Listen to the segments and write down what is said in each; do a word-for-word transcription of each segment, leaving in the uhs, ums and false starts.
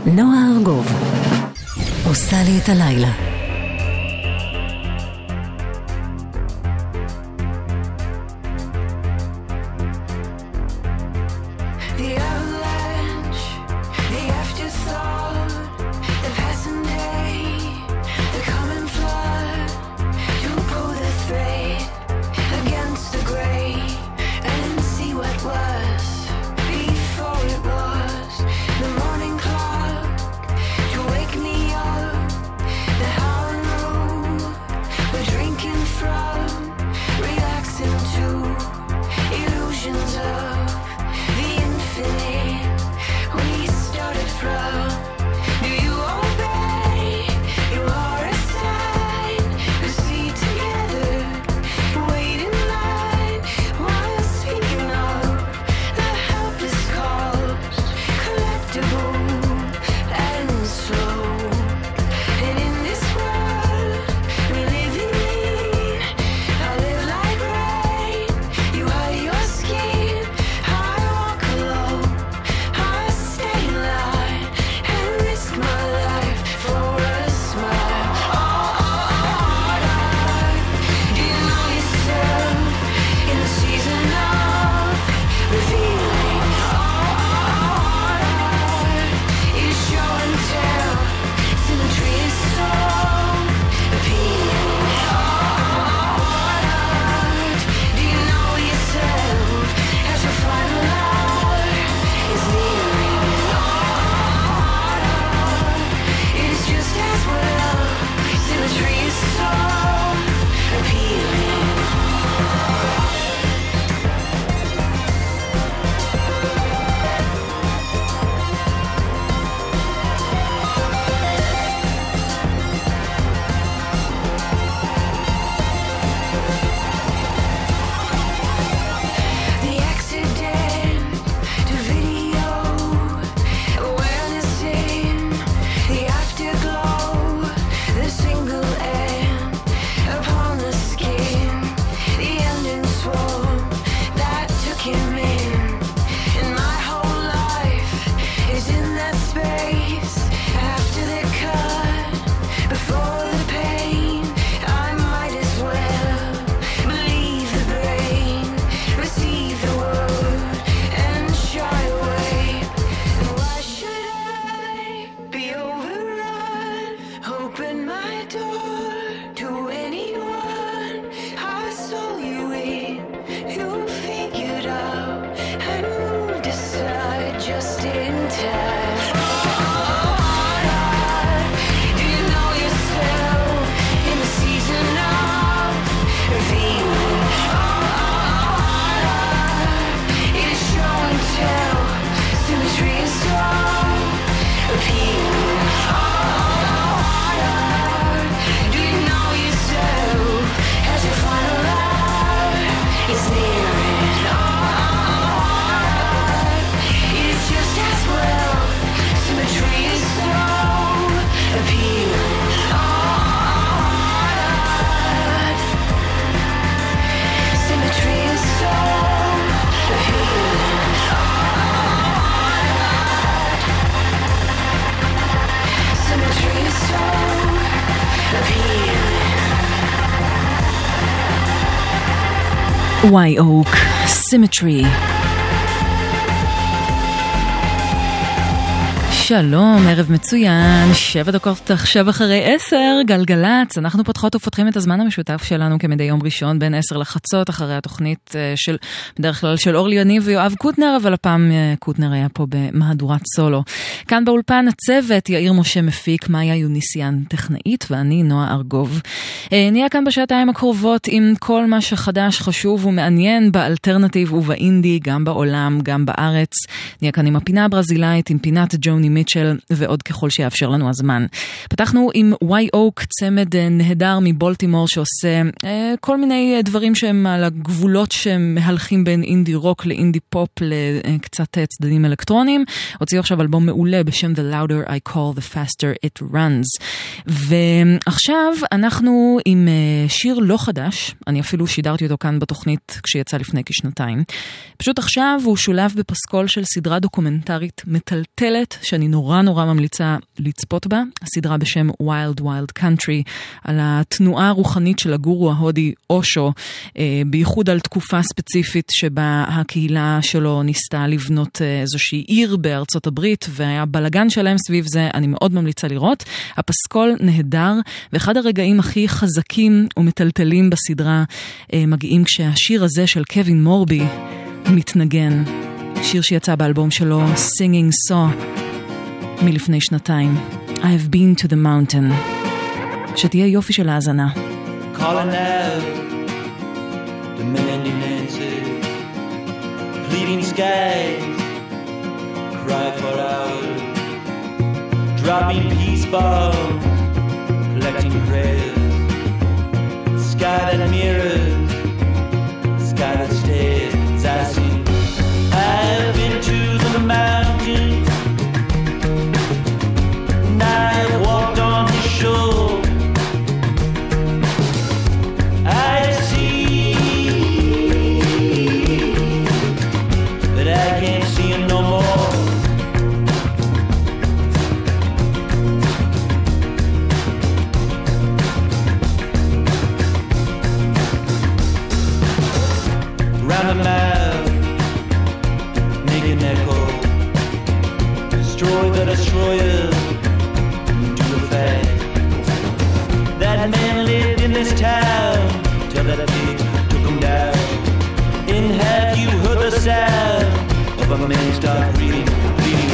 נועה ארגוב עושה לי את הלילה. White Oak, Symmetry. שלום, ערב מצוין, שבע דקות עכשיו אחרי עשר, גלגלץ, אנחנו פותחות ופותחים את הזמן המשותף שלנו כמדי יום ראשון בין עשר לחצות, אחרי התוכנית של, בדרך כלל של אורלי יניב ויואב קוטנר, אבל הפעם קוטנר היה פה במהדורת סולו. כאן באולפן הצוות, יאיר משה מפיק, מאיה יוניסיאן טכנאית, ואני נועה ארגוב. נהיה כאן בשעתיים הקרובות עם כל מה שחדש, חשוב ומעניין באלטרנטיב ובאינדי, גם בעולם, גם בארץ. נהיה כאן עם הפינה הברזילאית, עם פינת ג'וני מיטשל ועוד ככל שיאפשר לנו הזמן. פתחנו עם White Oak, צמד נהדר מבולטימור שעושה אה, כל מיני דברים שהם על הגבולות שמהלכים בין אינדי רוק לאינדי פופ לקצת צדדים אלקטרונים. הוציאו עכשיו אלבום מעולה בשם The Louder I Call The Faster It Runs. ועכשיו אנחנו עם אה, שיר לא חדש, אני אפילו שידרתי אותו כאן בתוכנית כשיצא לפני כשנתיים. פשוט עכשיו הוא שולב בפסקול של סדרה דוקומנטרית מטלטלת שאני שאני נורא נורא ממליצה לצפות בה, הסדרה בשם Wild Wild Country, על התנועה הרוחנית של הגורו ההודי אושו, בייחוד על תקופה ספציפית שבה הקהילה שלו ניסתה לבנות איזושהי עיר בארצות הברית, והיה בלגן שלהם סביב זה. אני מאוד ממליצה לראות. הפסקול נהדר, ואחד הרגעים הכי חזקים ומטלטלים בסדרה מגיעים כשהשיר הזה של קווין מורבי מתנגן. שיר שיצא באלבום שלו Singing Saw מלפני שנתיים. I've been to the mountain. שתהיה יופי של האזנה. Calling out, demanding answers, pleading skies, cry for hours, dropping peace bombs, collecting prayers, sky that mirrors, sky that stares, I see. I've been to the mountain, and I walked on the shore. I see, but I can't see him no more. Round the mile, make an echo, destroy the destroyers, do the fast. That man lived in this town till that pig took him down. And have you heard the sound of a man start breathing, breathing?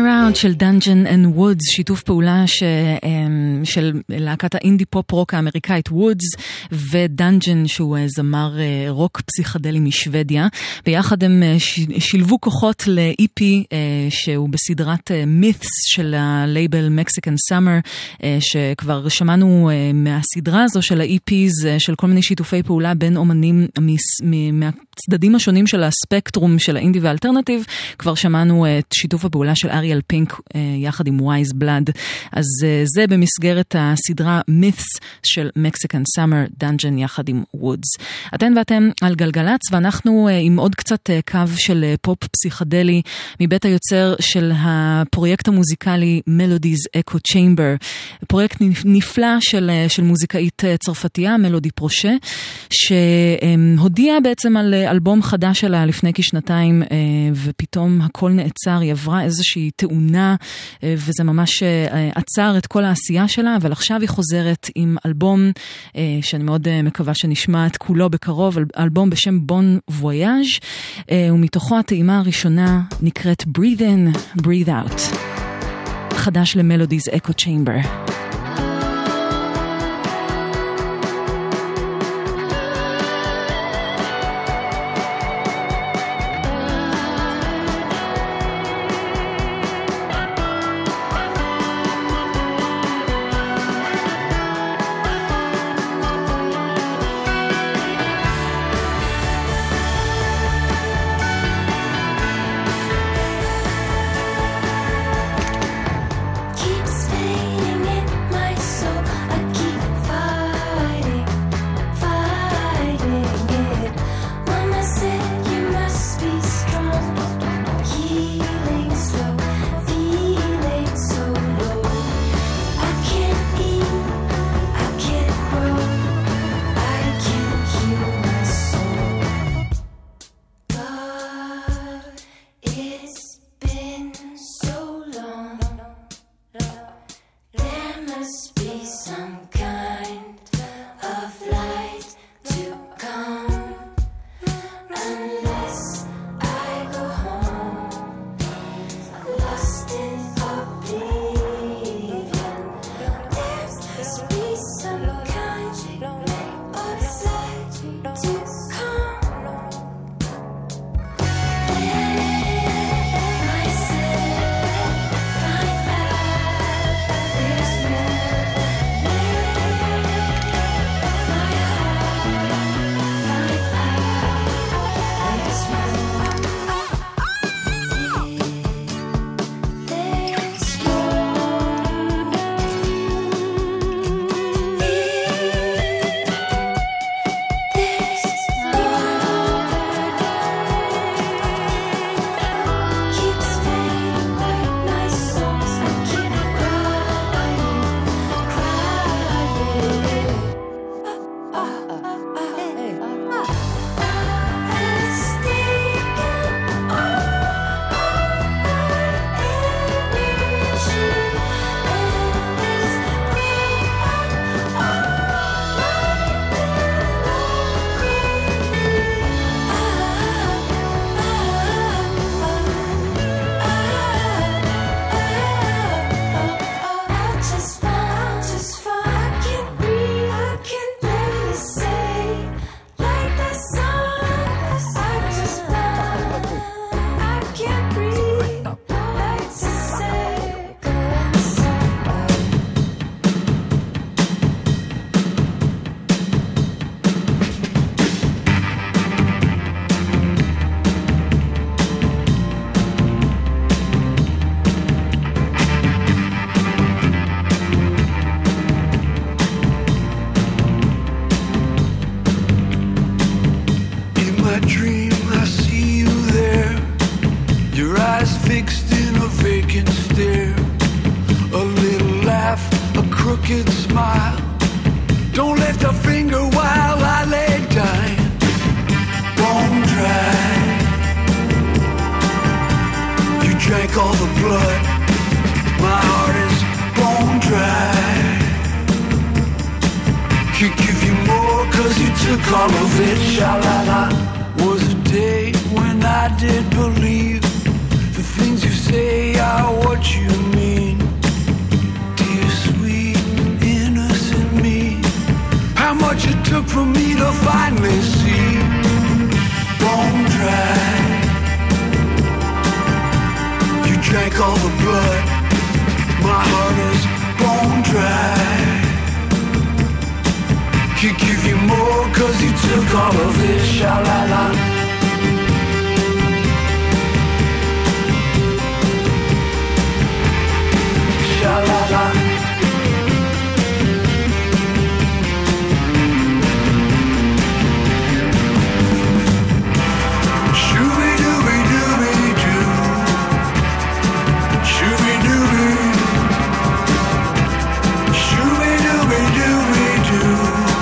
Around של Dungeon and Woods, שיתוף פעולה ש, של להקת האינדי פופ רוק האמריקאית Woods ודונג'ן שהוא זמר רוק פסיכדלי משוודיה. ביחד הם שילבו כוחות ל-E P שהוא בסדרת Myths של הלייבל Mexican Summer, שכבר שמענו מהסדרה הזו של ה-E Ps של כל מיני שיתופי פעולה בין אומנים מהצדדים השונים של הספקטרום של האינדי והאלטרנטיב. כבר שמענו את שיתוף הפעולה של אריאל פינק יחד עם ווייז בלאד. אז זה במסגרת הסדרה Myths של Mexican Summer, דונג'ן יחד עם Woods. אתן ואתם על גלגלץ, ואנחנו עם עוד קצת קו של פופ פסיכדלי מבית היוצר של הפרויקט המוזיקלי Melodies Echo Chamber, פרויקט נפלא של, של מוזיקאית צרפתייה, מלודי פרושה, שהודיעה בעצם על אלבום חדש שלה לפני כשנתיים, ופתאום הכל נעצר, היא עברה איזושהי תאונה, וזה ממש עצר את כל העשייה שלה, אבל עכשיו היא חוזרת עם אלבום שאני מאוד מקווה שנשמע את כולו בקרוב, אלבום בשם בון וויאז', ומתוכו הטעימה הראשונה נקראת Breathe In, Breathe Out, חדש למלודיז אקו צ'יימבר. Was a day when I did believe the The things you say are what you mean. Dear sweet innocent me, how much it took for me to finally see. Bone dry, you drank all the blood. My heart is bone dry. Could give you more cause you took all of it. Sha-la-la. Sha-la-la. Shooby-dooby-dooby-doo. Shooby-dooby. Shooby-dooby-dooby-doo.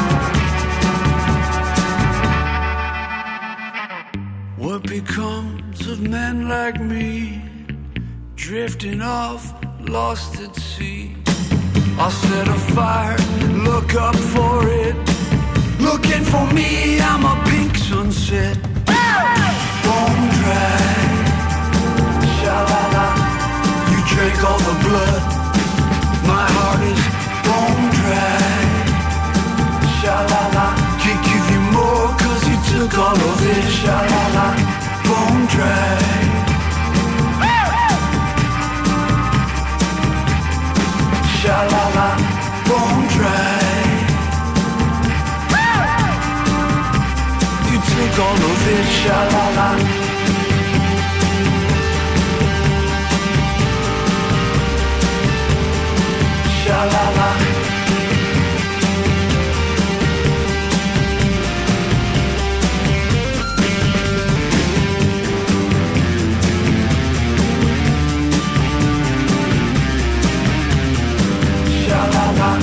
What becomes of men like me, drifting off, lost at sea? I'll set a fire, look up for it. Looking for me, I'm a pink sunset. Bone dry, sha-la-la. You drank all the blood. My heart is bone dry, sha-la-la. Can't give you more cause you took all of it. Sha-la-la, bone dry. Sha-la-la, bone dry. You took all of it, sha-la-la. Sha-la-la. Sha-la-la.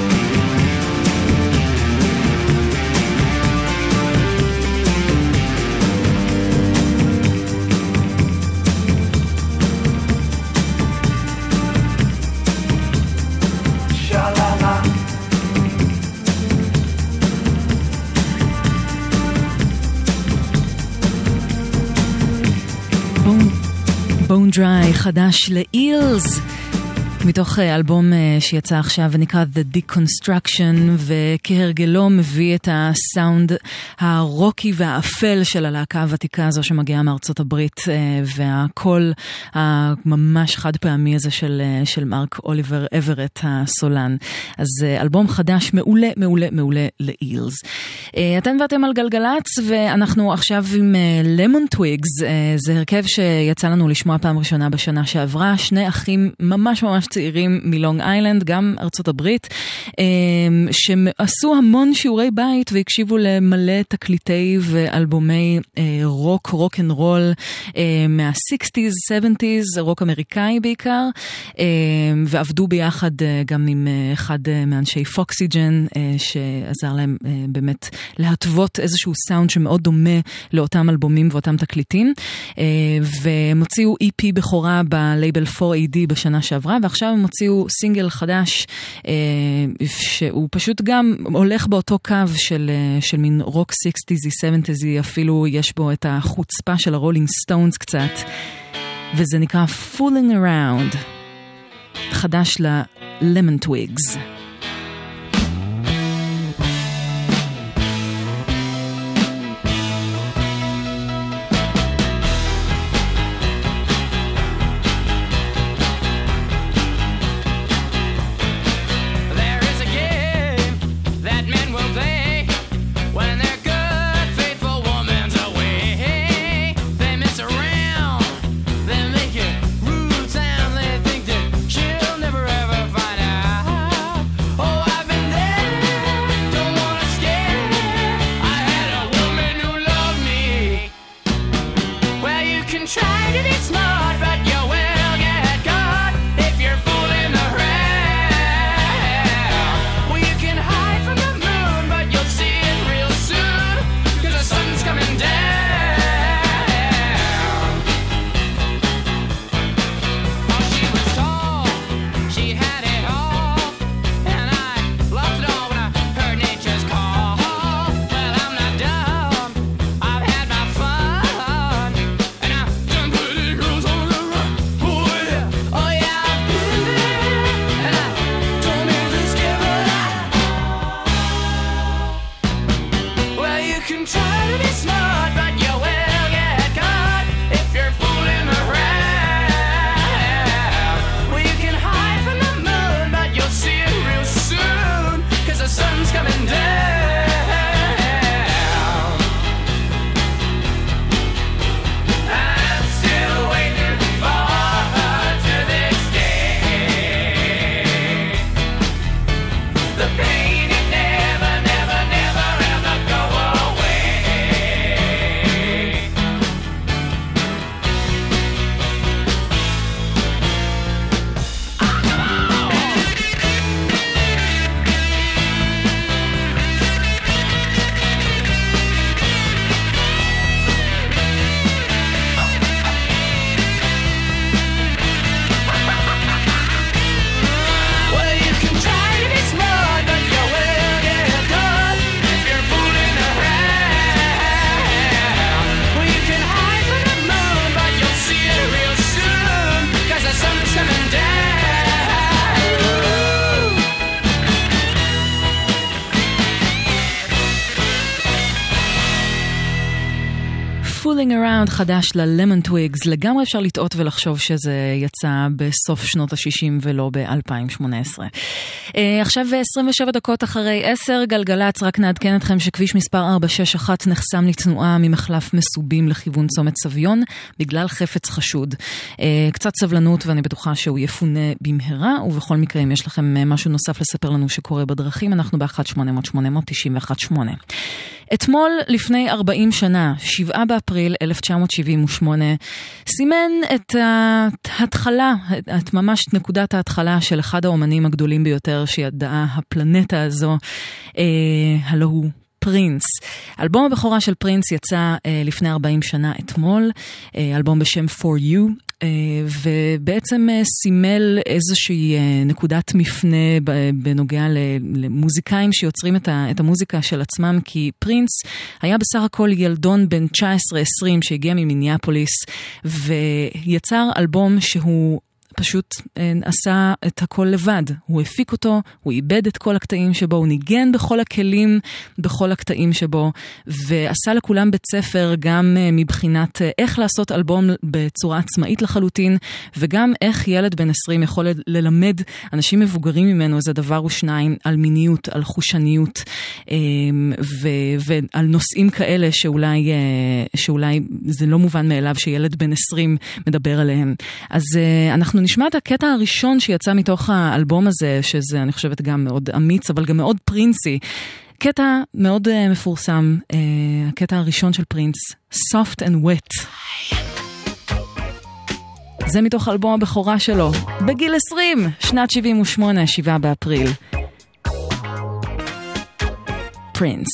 Bone Dry חדש לאילס מתוך אלבום שיצא עכשיו ונקרא The Deconstruction, וכהרגלו מביא את הסאונד הרוקי והאפל של הלהקה הוותיקה הזו שמגיעה מארצות הברית, והקול הממש חד פעמי הזה של, של מרק אוליבר אברט הסולן. אז אלבום חדש מעולה מעולה מעולה לאילס. אתם ואתם על גלגלץ, ואנחנו עכשיו עם למון טוויגס. זה הרכב שיצא לנו לשמוע פעם ראשונה בשנה שעברה, שני אחים ממש ממש צעירים מלונג איילנד, גם ארצות הברית, שעשו המון שיעורי בית והקשיבו למלא תקליטי ואלבומי רוק, רוק אנד רול מה-סיקסטיז, סבנטיז, רוק אמריקאי בעיקר, ועבדו ביחד גם עם אחד מאנשי פוקסיג'ן, שעזר להם באמת להטוות איזשהו סאונד שמאוד דומה לאותם אלבומים ואותם תקליטים, והם הוציאו אי פי בכורה בלייבל פור איי די בשנה שעברה, ועכשיו הם הוציאו סינגל חדש שהוא פשוט גם הולך באותו קו של, של מין רוק סיקסטיזי, סבנטיזי, אפילו יש בו את החוצפה של הרולינג סטונס קצת, וזה נקרא Fooling Around, חדש ל-Lemon Twigs. Rude sound, they think that she'll never ever find out. try to be smart, but you will get caught if you're fooling around. Well, you can hide from the moon, but you'll see it real soon, 'cause the sun's coming down. I'm still waiting for to this day. The pain, it never, never, never, ever go away. Well, you can try to be smart, but you will get caught if you're fooling around. Well, you can hide from the moon, but you'll see it real soon, 'cause the sun's coming down. Fooling Around חדש ל-Lemon Twigs, לגמרי אפשר לטעות ולחשוב שזה יצא בסוף שנות ה-שישים ולא ב-אלפיים שמונה עשרה. Uh, עכשיו עשרים ושבע דקות אחרי עשר, גלגלץ, רק נעדכן אתכם שכביש מספר ארבע שש אחת נחסם לתנועה ממחלף מסובים לכיוון צומת סביון, בגלל חפץ חשוד. Uh, קצת סבלנות ואני בטוחה שהוא יפונה במהרה, ובכל מקרה אם יש לכם משהו נוסף לספר לנו שקורה בדרכים, אנחנו ב-אחת שמונה אפס אפס שמונה אפס אפס תשע אחת שמונה. אתמול לפני ארבעים שנה, שבעה באפריל אלף תשע מאות שבעים ושמונה, סימן את ההתחלה, את ממש נקודת ההתחלה של אחד האומנים הגדולים ביותר שידעה הפלנטה הזו, אה, הלא הוא פרינס. אלבום הבכורה של פרינס יצא אה, לפני ארבעים שנה אתמול, אה, אלבום בשם For You, אה, ובעצם אה, סימל איזושהי אה, נקודת מפנה בנוגע למוזיקאים שיוצרים את, ה, את המוזיקה של עצמם, כי פרינס היה בסך הכל ילדון בן תשע עשרה עשרים שהגיע ממיניאפוליס, ויצר אלבום שהוא פשוט עשה את הכל לבד. הוא הפיק אותו, הוא איבד את כל הקטעים שבו, הוא ניגן בכל הכלים, בכל הקטעים שבו, ועשה לכולם בית ספר גם מבחינת איך לעשות אלבום בצורה עצמאית לחלוטין, וגם איך ילד בן עשרים יכול ללמד אנשים מבוגרים ממנו איזה דבר או שניים על מיניות, על חושניות, ו- ועל נושאים כאלה שאולי, שאולי זה לא מובן מאליו שילד בן עשרים מדבר עליהם. אז אנחנו נשמע את הקטע הראשון שיצא מתוך האלבום הזה, שזה אני חושבת גם מאוד אמיץ, אבל גם מאוד פרינסי. קטע מאוד uh, מפורסם, uh, הקטע הראשון של פרינס, Soft and Wet. זה מתוך האלבום הבכורה שלו, בגיל עשרים, שנת שבעים ושמונה, שבעה באפריל. פרינס.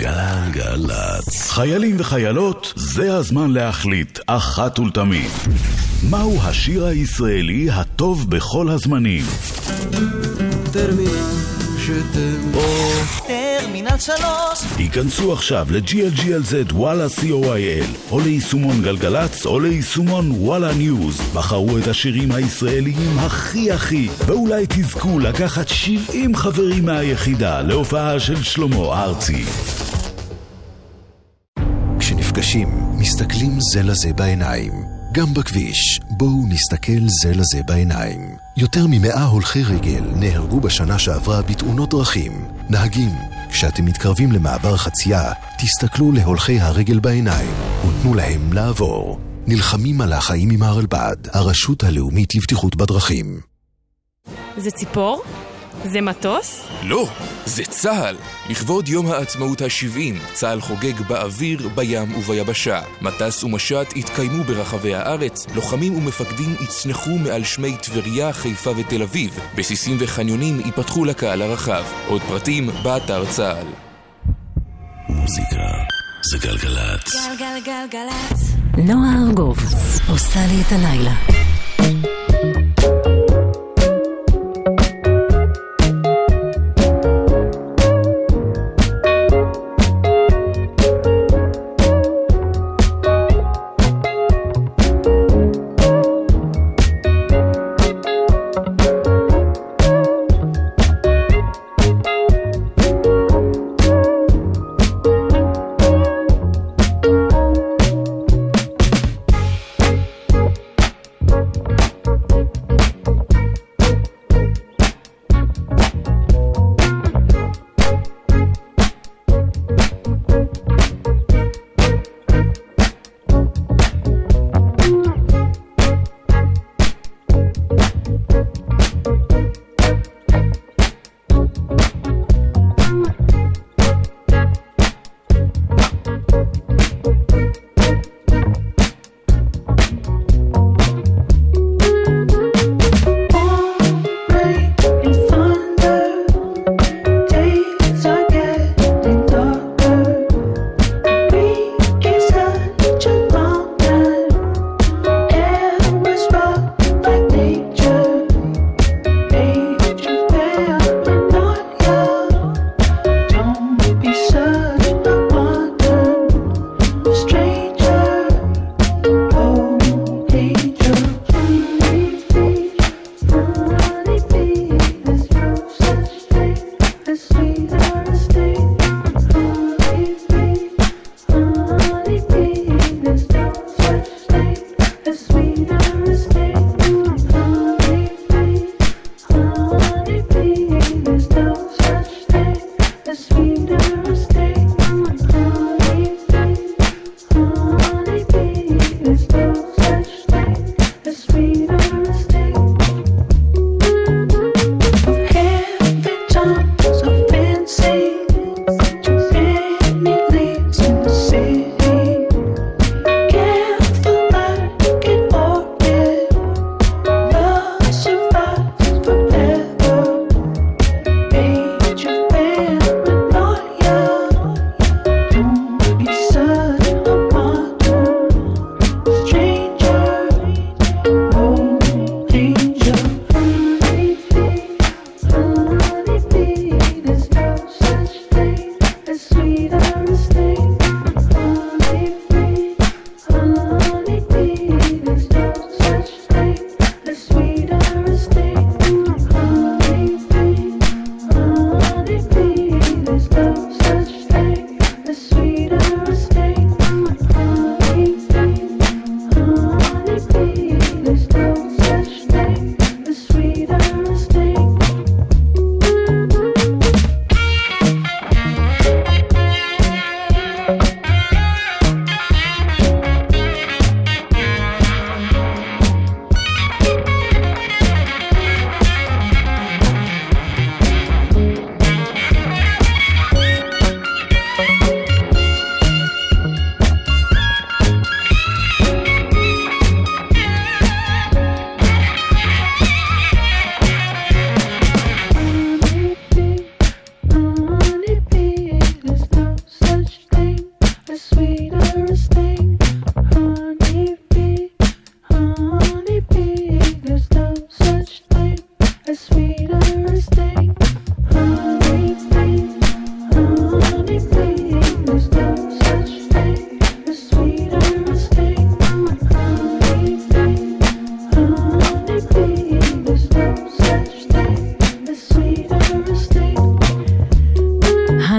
גלגלצ. חיילים וחיילות, זה הזמן להחליט אחת ולתמיד. מהו השיר הישראלי הטוב בכל הזמנים? טרמינל שתם או טרמינל שלוש. היכנסו עכשיו ל-ג'י אל ג'י אל זד וואלה סי או איי אל או ליישומון גלגלץ או ליישומון וואלה ניוז. בחרו את השירים הישראליים הכי הכי, ואולי תזכו לקחת שבעים חברים מהיחידה להופעה של שלמה ארצי. כשנפגשים, מסתכלים זה לזה בעיניים. גם בכביש, בואו נסתכל זה לזה בעיניים. יותר ממאה הולכי רגל נהרגו בשנה שעברה בתאונות דרכים. נהגים, כשאתם מתקרבים למעבר חצייה, תסתכלו להולכי הרגל בעיניים ותנו להם לעבור. נלחמים על החיים עם הרלב"ד, הרשות הלאומית לבטיחות בדרכים. זה ציפור? זה מטוס? לא, זה צהל. לכבוד יום העצמאות ה-שבעים, צהל חוגג באוויר, בים וביבשה. מטס ומשט התקיימו ברחבי הארץ, לוחמים ומפקדים יצנחו מעל שמי טבריה, חיפה ותל אביב. בסיסים וחניונים ייפתחו לקהל הרחב. עוד פרטים באתר צהל. מוזיקה זה גלגלצ. גלגלגלגלצ. נועה ארגוב עושה לי את הלילה. So fancy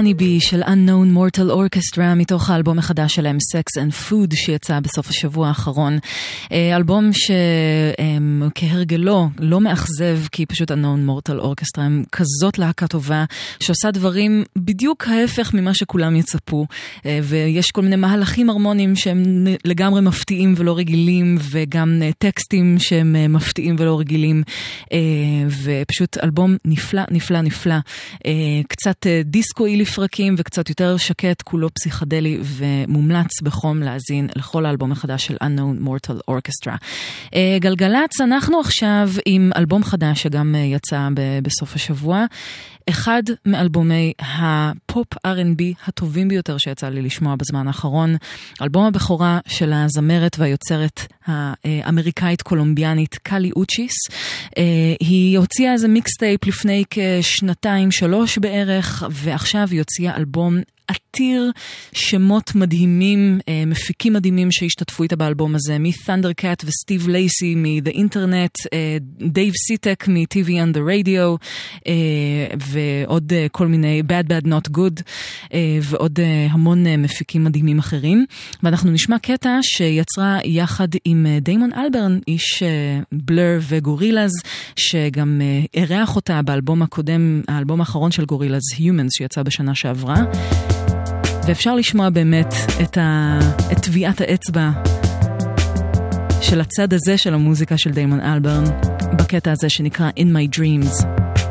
Honeybee של Unknown Mortal Orchestra מתוך האלבום החדש שלהם Sex and Food שיצא בסוף השבוע האחרון. אלבום שכהרגלו לא מאכזב, כי פשוט Unknown Mortal Orchestra הם כזאת להקה טובה שעושה דברים בדיוק ההפך ממה שכולם יצפו, ויש כל מיני מהלכים הרמוניים שהם לגמרי מפתיעים ולא רגילים, וגם טקסטים שהם מפתיעים ולא רגילים, ופשוט אלבום נפלא נפלא נפלא, קצת דיסקואי לפרקים וקצת יותר שקט, כולו פסיכדלי, ומומלץ בחום להזין לכל האלבום החדש של Unknown Mortal Orchestra. גלגלץ, אנחנו עכשיו עם אלבום חדש שגם יצא בסוף השבוע, אחד מאלבומי הפופ אר אנד בי הטובים ביותר שיצא לי לשמוע בזמן האחרון, אלבום הבכורה של הזמרת והיוצרת האמריקאית קולומביאנית קלי אוצ'יס. היא הוציאה איזה מיקסטייפ לפני כשנתיים שלוש בערך, ועכשיו היא הוציאה אלבום עתיר שמות מדהימים, מפיקים מדהימים שהשתתפו איתה באלבום הזה, מ-Thundercat וסטיב לייסי מ-The Internet, דייב סיטק מ-טי וי on the Radio, ועוד כל מיני Bad Bad Not Good, ועוד המון מפיקים מדהימים אחרים. ואנחנו נשמע קטע שיצרה יחד עם דיימון אלברן, איש בלר וגורילאז, שגם אירח אותה באלבום הקודם, האלבום האחרון של גורילאז, Humans, שיצא בשנה שעברה. ואפשר לשמוע באמת את, ה... את טביעת האצבע של הצד הזה של המוזיקה של דיימון אלברן בקטע הזה שנקרא In My Dreams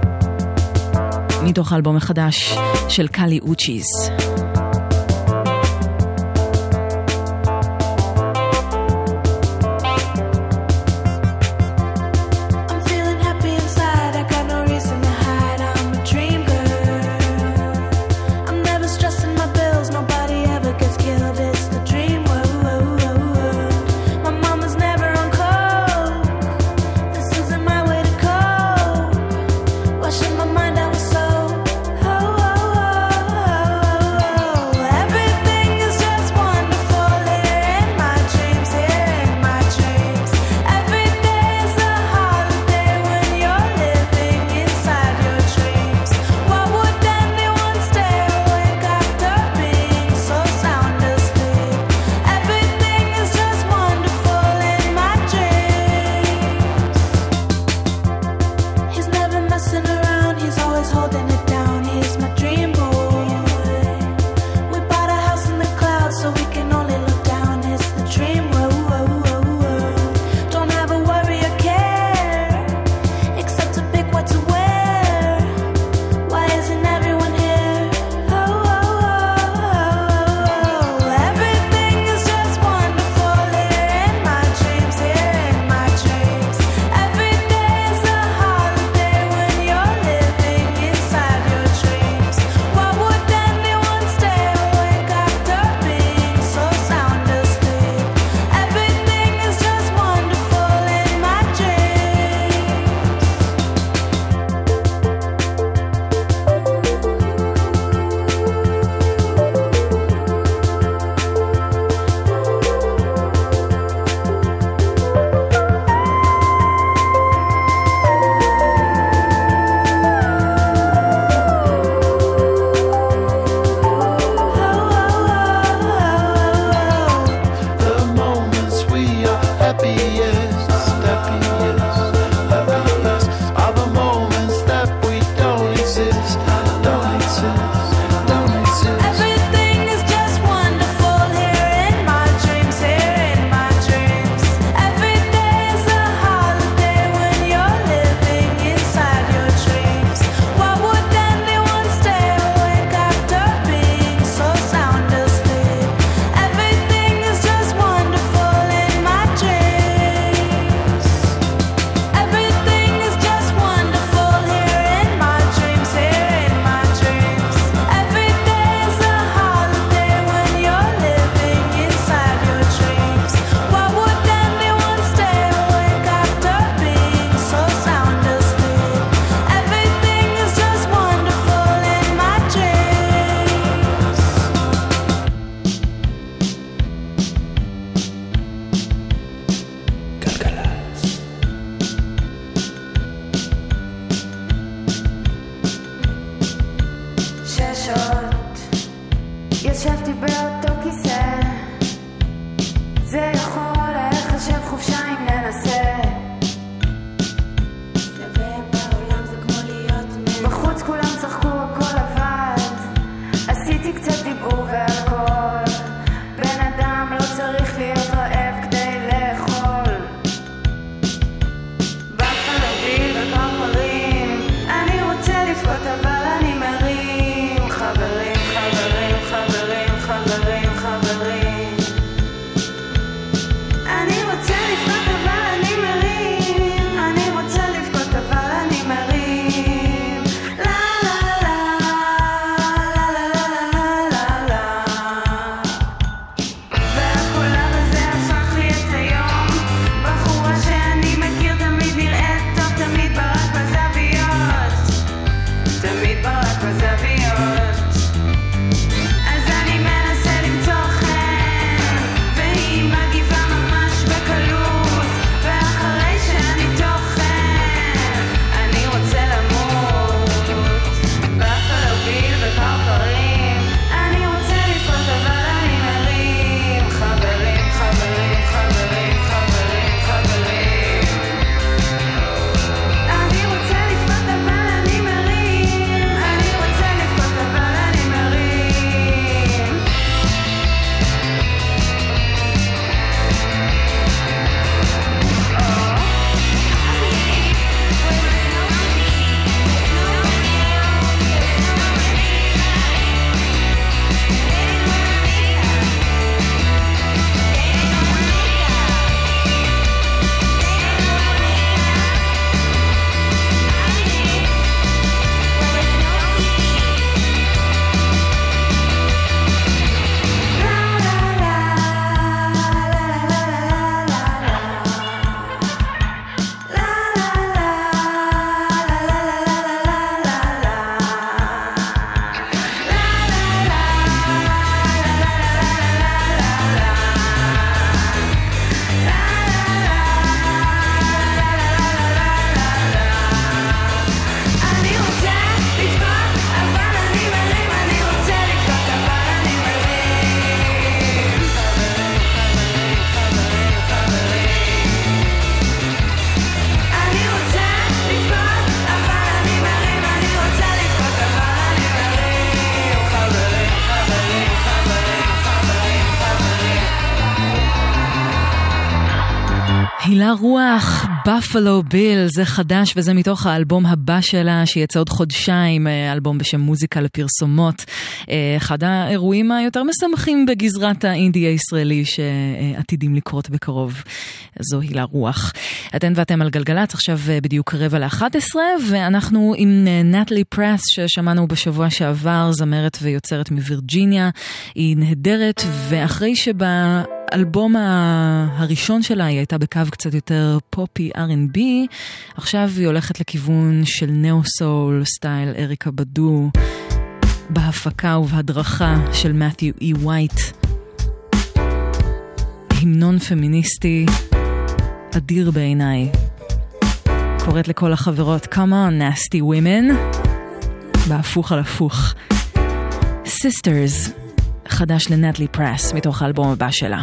מתוך האלבום החדש של קלי אוצ'יס. Washing my mind, I was so oh, oh, oh, oh, oh. ישבתי באותו כיסא, זה יכול לחשב חופשה אם ננסה. שווה בעולם זה כמו להיות מי, בחוץ כולם צחקו הכל עבד, עשיתי קצת דיבור והכל, בן אדם לא צריך להיות רעב כדי לאכול. בפלו ביל וכפרים, אני רוצה לבכות אבל אני מרים. חברים, חברים, חברים, חברים, חברים, אני רוצה לבכות אבל אני מרים. אני רוצה לבכות אבל אני מרים. לה לה לה לה לה לה לה לה. והקולב הזה הפך לי את היום, בחורה שאני מכיר תמיד נראית טוב, תמיד ברק בזוויות, תמיד ברק בזוויות. אז אני מנסה למצוא חן, והיא מגיבה ממש בקלות, ואחרי שאני תוכן אני רוצה למות. בפלו ביל וכפרים, אני רוצה לבכות אבל אני מרים. חברים, חברים, חברים, חברים, חברים, אני רוצה לבכות אבל אני מרים. אני רוצה לבכות אבל אני מרים. אני רוצה לבכות אבל אני מרים. אני רוצה לבכות אבל אני מרים. חברים, חברים, חברים, חברים, אני רוצה לבכות אבל אני מרים. אני רוצה לבכות אבל אני מרים. חברים, חברים, חברים, חברים, חברים. הילה רוח, בפלו ביל, זה חדש וזה מתוך האלבום הבא שלה שיצא עוד חודשיים, אלבום בשם מוזיקה לפרסומות, אחד האירועים היותר משמחים בגזרת האינדי הישראלי שעתידים לקרות בקרוב. זו הילה רוח. אתן ואתם על גלגלץ, עכשיו בדיוק רבע לאחת עשרה, ואנחנו עם נטלי פרס ששמענו בשבוע שעבר, זמרת ויוצרת מווירג'יניה. היא נהדרת, ואחרי שבה האלבום הראשון שלה היא הייתה בקו קצת יותר פופי אר אנד בי, עכשיו היא הולכת לכיוון של נאו-סול, סטייל אריקה בדו, בהפקה ובהדרכה של מת'יו אי ווייט. המנון פמיניסטי אדיר בעיניי. קוראת לכל החברות, come on nasty women, בהפוך על הפוך. Sisters, חדש לנטלי פרס מתוך האלבום הבא שלה.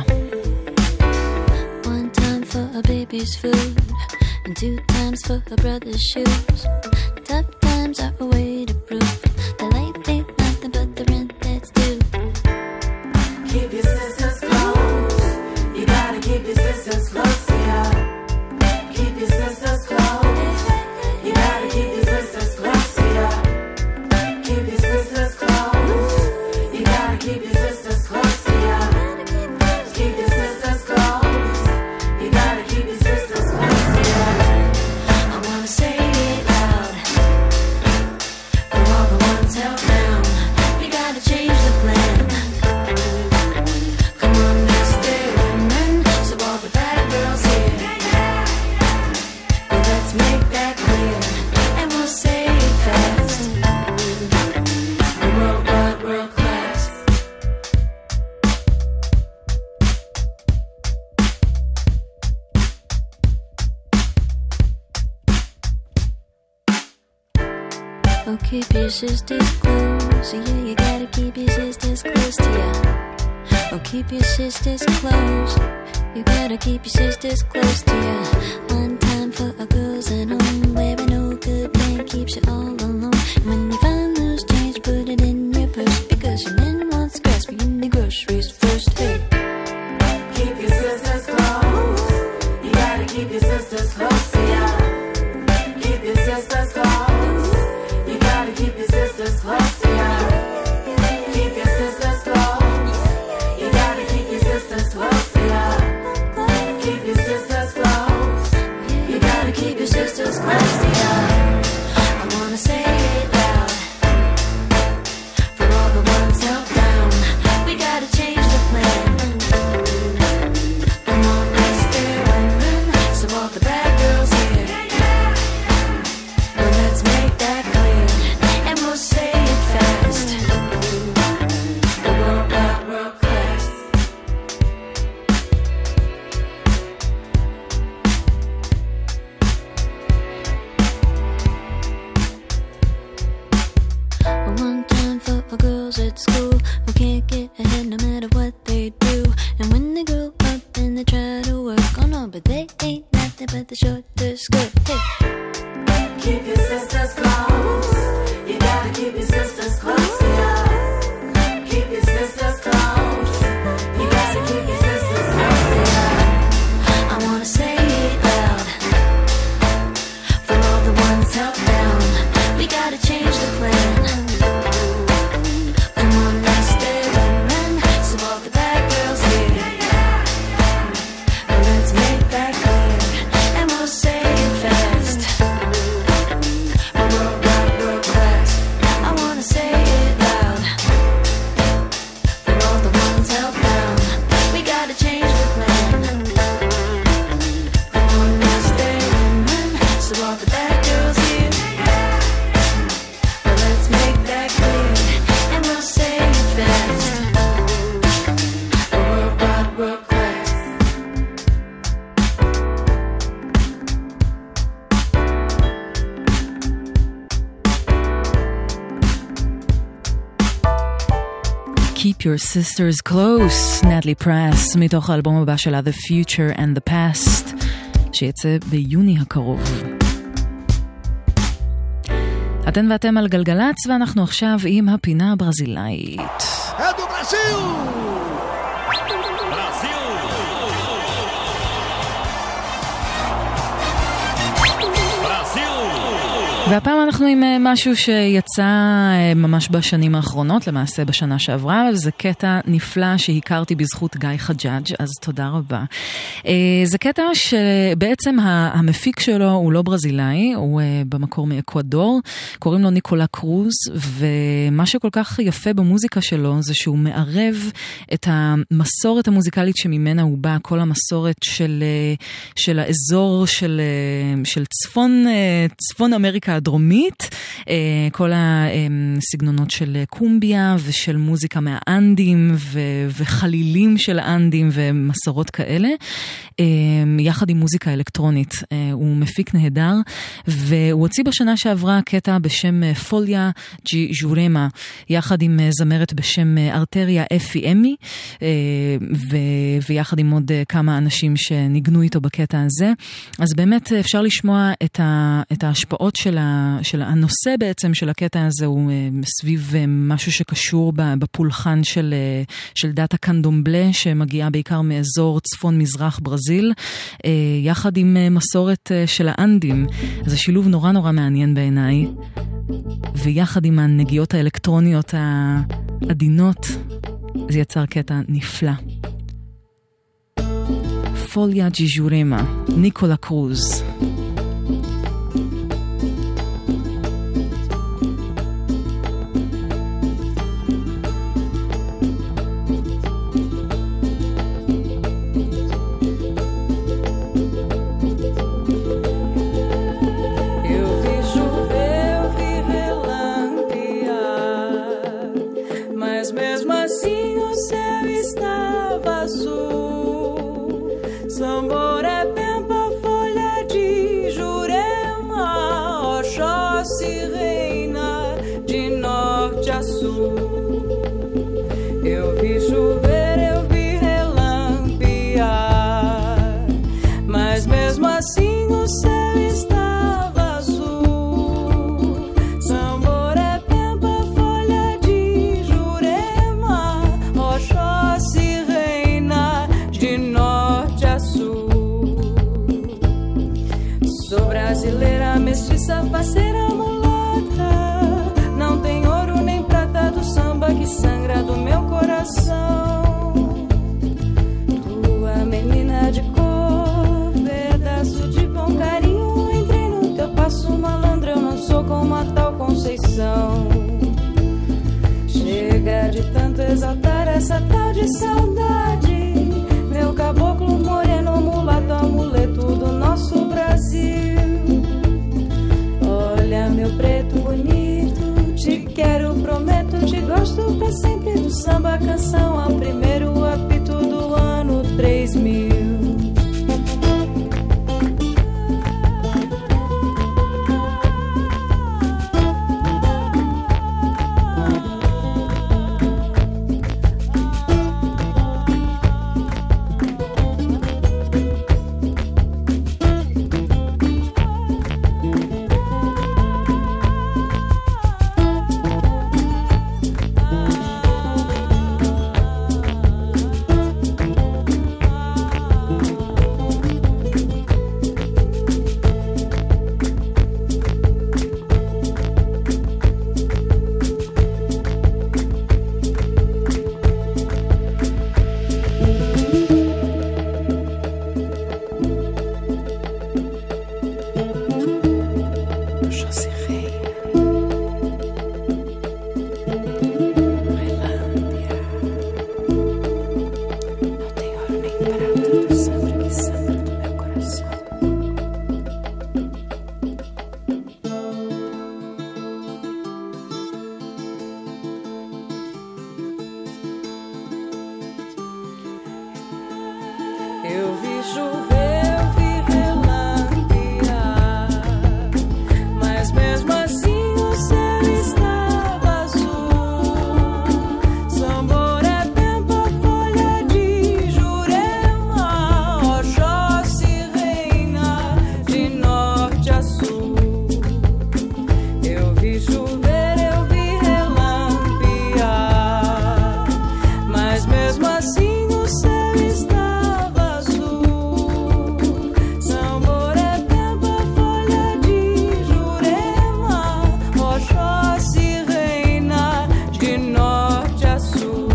One time for a baby's food and two times for a brother's shoes. Tough times are a way to prove that life ain't nothing but the rent that's due. Keep your sisters close. You gotta keep your sisters close to you. Keep your sisters close. You gotta keep your sisters close to you. Keep your sisters close. You gotta keep your sisters close to you. Keep your sisters close. You gotta keep your sisters close to you. I wanna say it loud for all the ones held down. You gotta change the plan. Come on, let's stay women. So all the bad girls here, well, let's make that clear, and we'll say it fast. We're worldwide, world class. Oh, keep your sisters close. Yeah, you gotta keep your sisters close to you. keep your sisters close. You gotta keep your sisters close to you. One time for a girls at home, where no good man keeps you all alone. And when you find loose change, put it in your purse, because your man wants grass, but you need groceries first. Hey, Keep your sisters close. You gotta keep your sisters close to ya. Keep your sisters close. You gotta keep your sisters close to ya. Keep your sisters close. You gotta keep your sisters close to ya. Keep your sisters close. You gotta keep your sisters close to ya. I wanna say it loud for all the ones held down. We gotta change the plan. Come on, let's stay women, so all the bad girls here. Well, let's make that clear, and we'll say it fast. The world wide world class. one time for our girls at school who can't get ahead no matter what they do. And when they grow up and they try to work, oh no, but they ain't nothing but the shorter skirt. Hey, Keep your sisters close. You gotta keep your sisters close to ya. Keep your sisters close. You gotta keep your sisters close to ya. I wanna say it loud for all the ones held down. We gotta change the plan. Come on, let's stay women, so all the bad girls here. Well, let's make that clear, and we'll say it fast. The world wide world class. I wanna say it loud for all the ones held down. We gotta change the plan. Come on, let's stay women, so all the bad girls here. Well, let's make that clear, and we'll say it fast. The world wide world class. Keep Your Sisters Close, נטלי פרס, מתוך האלבום הבא שלה The Future and the Past, שיצא ביוני הקרוב. אתן ואתם על גלגלץ, ואנחנו עכשיו עם הפינה הברזילאית. É do Brasil! והפעם אנחנו עם משהו שיצא ממש בשנים האחרונות, למעשה בשנה שעברה, וזה קטע נפלא שהכרתי בזכות גיא חג'אג', אז תודה רבה. זה קטע שבעצם המפיק שלו הוא לא ברזילאי, הוא במקור מאקוודור, קוראים לו ניקולה קרוז, ומה שכל כך יפה במוזיקה שלו זה שהוא מערב את המסורת המוזיקלית שממנה הוא בא, כל המסורת של, של האזור של, של צפון, צפון אמריקה הדרומית, כל הסגנונות של קומביה ושל מוזיקה מהאנדים וחלילים של האנדים ומסורות כאלה, יחד עם מוזיקה אלקטרונית. הוא מפיק נהדר, והוא הוציא בשנה שעברה קטע בשם פוליה ג'י ז'ורמה, יחד עם זמרת בשם ארטריה אפי אמי, ויחד עם עוד כמה אנשים שניגנו איתו בקטע הזה. אז באמת אפשר לשמוע את ההשפעות של של הנושא בעצם של הקטע הזה, הוא סביב משהו שקשור בפולחן של, של דאטה קנדומבלה, שמגיעה בעיקר מאזור צפון מזרח ברזיל, יחד עם מסורת של האנדים. זה שילוב נורא נורא מעניין בעיניי, ויחד עם הנגיעות האלקטרוניות העדינות, זה יצר קטע נפלא. פוליה ג'י ז'ורמה, ניקולה קרוז. Eu vi chover, eu vi Chega de tanto exaltar essa tal de saudade. Meu caboclo moreno, mulato, amuleto do nosso Brasil. Olha, meu preto bonito, te quero, prometo, te gosto pra sempre do samba canção ao primeiro apito do ano três mil. Eu vi chover, eu vi relampear, mas mesmo assim o céu estava azul. Samboré, Pemba, folha de Jurema, Oxóssi reina de norte a sul. Eu vi chover, eu vi relampear, mas mesmo assim o céu estava azul. Samboré, Pemba, folha de Jurema, Oxóssi reina de norte a sul.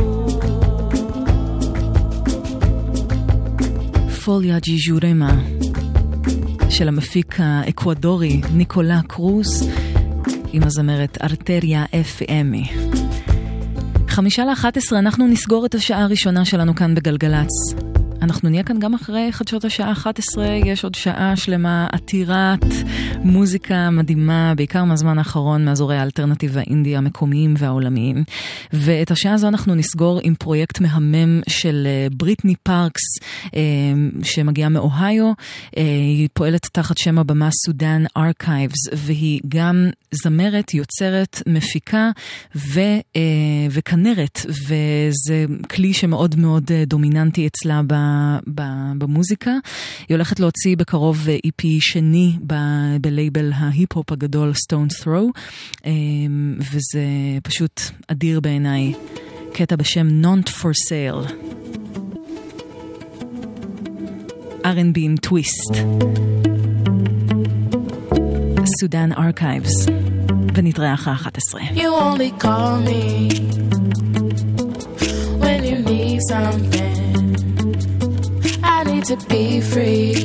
פוליה ג'י ז'ורמה של המפיק האקוודורי ניקולה קרוס עם הזמרת ארטריה אף אמי. חמישה לאחת עשרה אנחנו נסגור את השעה הראשונה שלנו כאן בגלגלץ. אנחנו נהיה כאן גם אחרי חדשות השעה אחת עשרה, יש עוד שעה שלמה עתירת מוזיקה מדהימה, בעיקר מהזמן האחרון מאזורי האלטרנטיב האינדי המקומיים והעולמיים. ואת השעה הזו אנחנו נסגור עם פרויקט מהמם של בריטני פארקס, שמגיעה מאוהיו. היא פועלת תחת שם הבמה סודן ארכייבס, והיא גם זמרת, יוצרת, מפיקה ו, וכנרת, וזה כלי שמאוד מאוד דומיננטי אצלה ב, ב, במוזיקה. היא הולכת להוציא בקרוב אי פי שני ב- בלייבל ההיפ-הופ הגדול Stone's Throw, וזה פשוט אדיר בעיניי. קטע בשם Not for Sale, אר אנד בי עם טוויסט, סודן ארכייבס, ונתראה אחרי אחת עשרה. You only call me when you need something. I need to be free.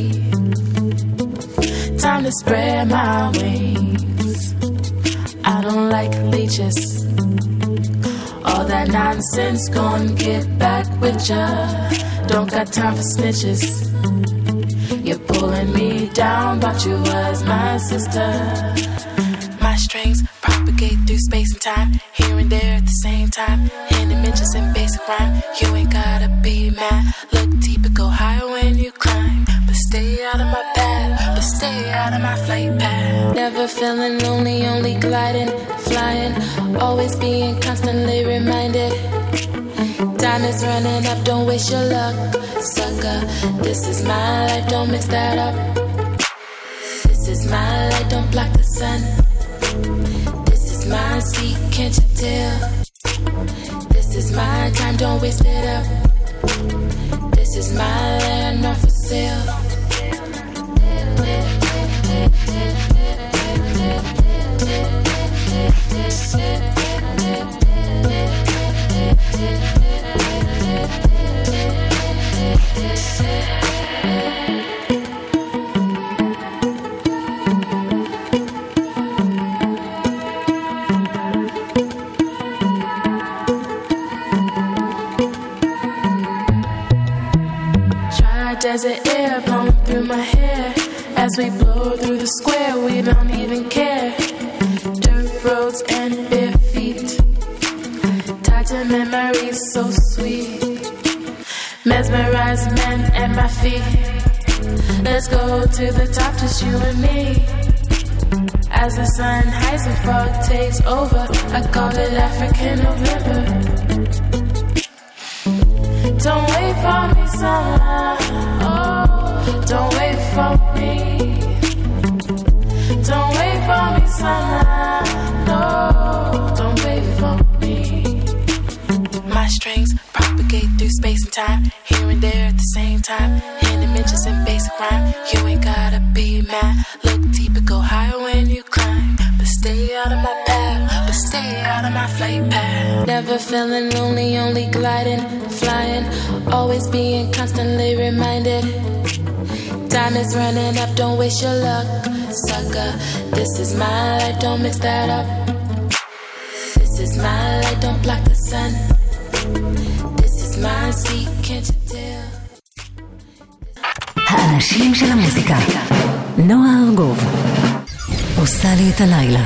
Time to spread my wings. I don't like leeches. All that nonsense gon' get back with ya. Don't got time for snitches. You're pulling me down, but you was my sister. My strings propagate through space and time, here and there at the same time. In dimensions and basic rhyme, you ain't gotta be mad. Look deeper, go higher when you climb. But stay out of my path, but stay out of my flight path. Never feeling lonely, only gliding, flying. Always being constantly reminded. Time is running up, don't waste your luck, sucker. This is my life, don't mix that up. This is my light, don't block the sun. This is my seat, can't you tell? This is my time, don't waste it up. This is my land, not for sale. desert air blowing through my hair. As we blow through the square, we don't even care. Dirt roads and bare feet, tied to memories so sweet. Mesmerized men at my feet. Let's go to the top, just you and me. As the sun hides and fog takes over, I call it African November. Don't wait for me, summer. Oh, don't wait for me. Don't wait for me, summer. No, don't wait for me. My strings propagate through space and time, here and there at the same time. In dimensions and basic rhyme, you ain't gotta be mad. Look deep and go higher when you climb. But stay out of my path, but stay out of my flight path. Never feeling lonely, only gliding, flying. Always being constantly reminded. Time is running up, don't waste your luck, sucker. This is my life, don't mix that up. This is my light, don't block the sun. This is my seat, can't you tell? האנשים של המוזיקה. נועה ארגוב עושה לי את הלילה.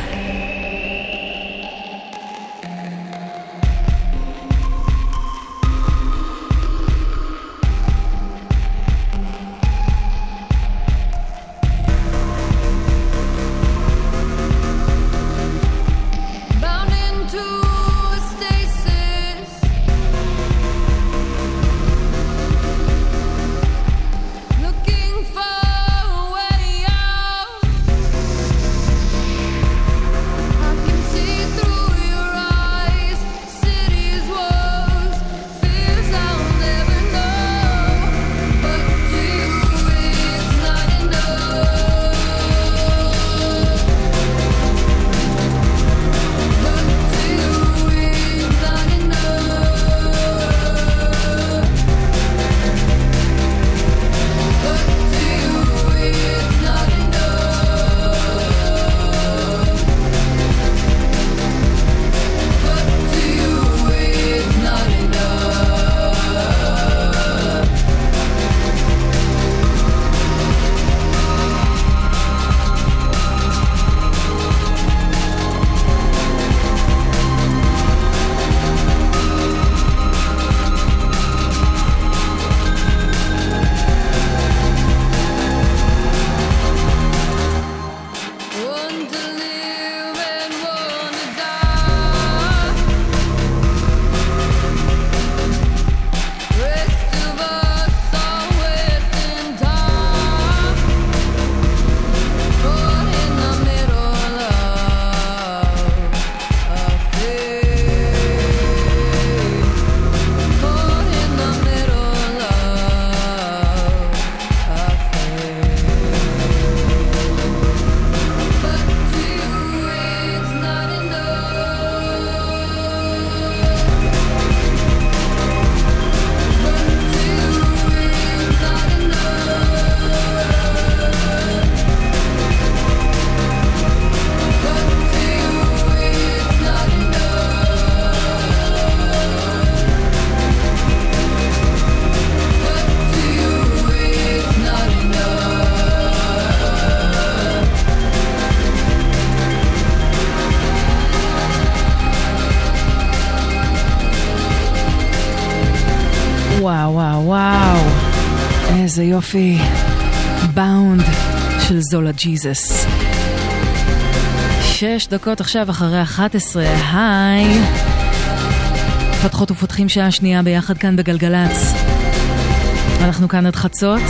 וואו וואו וואו, איזה יופי. באונד של זולה ג'יזוס. שש דקות עכשיו אחרי אחת עשרה. היי, פתחות ופותחים שעה שנייה ביחד כאן בגלגלץ. אנחנו כאן עד חצות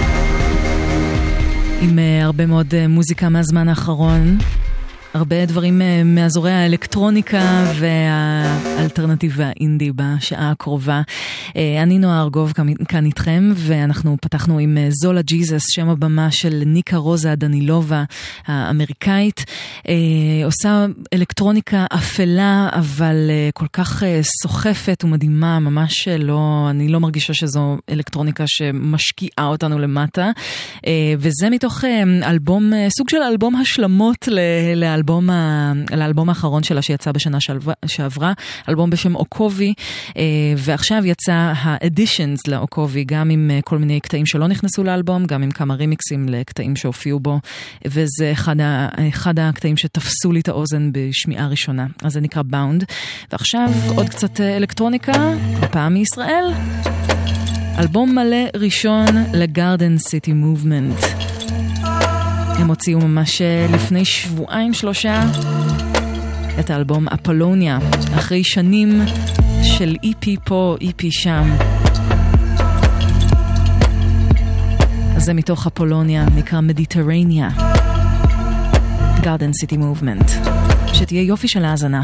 עם הרבה מאוד מוזיקה מהזמן האחרון, הרבה דברים מאזורי האלקטרוניקה והאלטרנטיבה האינדי בשעה הקרובה. אני נועה ארגוב כאן איתכם, ואנחנו פתחנו עם זולה ג'יזוס, שם הבמה של ניקה רוזה דנילובה האמריקאית. עושה אלקטרוניקה אפלה, אבל כל כך סוחפת ומדהימה, ממש לא, אני לא מרגישה שזו אלקטרוניקה שמשקיעה אותנו למטה. וזה מתוך אלבום, סוג של אלבום השלמות לאלבום לאלבום, ה... לאלבום האחרון שלה שיצא בשנה שעברה, אלבום בשם אוקובי, ועכשיו יצא ה-Editions לאוקובי, גם עם כל מיני קטעים שלא נכנסו לאלבום, גם עם כמה רימיקסים לקטעים שהופיעו בו, וזה אחד, ה... אחד הקטעים שתפסו לי את האוזן בשמיעה ראשונה. אז זה נקרא Bound. ועכשיו עוד קצת אלקטרוניקה, הפעם מישראל. אלבום מלא ראשון לגארדן סיטי מובמנט. הם הוציאו ממש לפני שבועיים שלושה את האלבום אפולוניה, אחרי שנים של אי פי פה, אי פי שם. אז זה מתוך אפולוניה, נקרא מדיטרניה. גארדן סיטי מובמנט. שתהיה יופי של האזנה.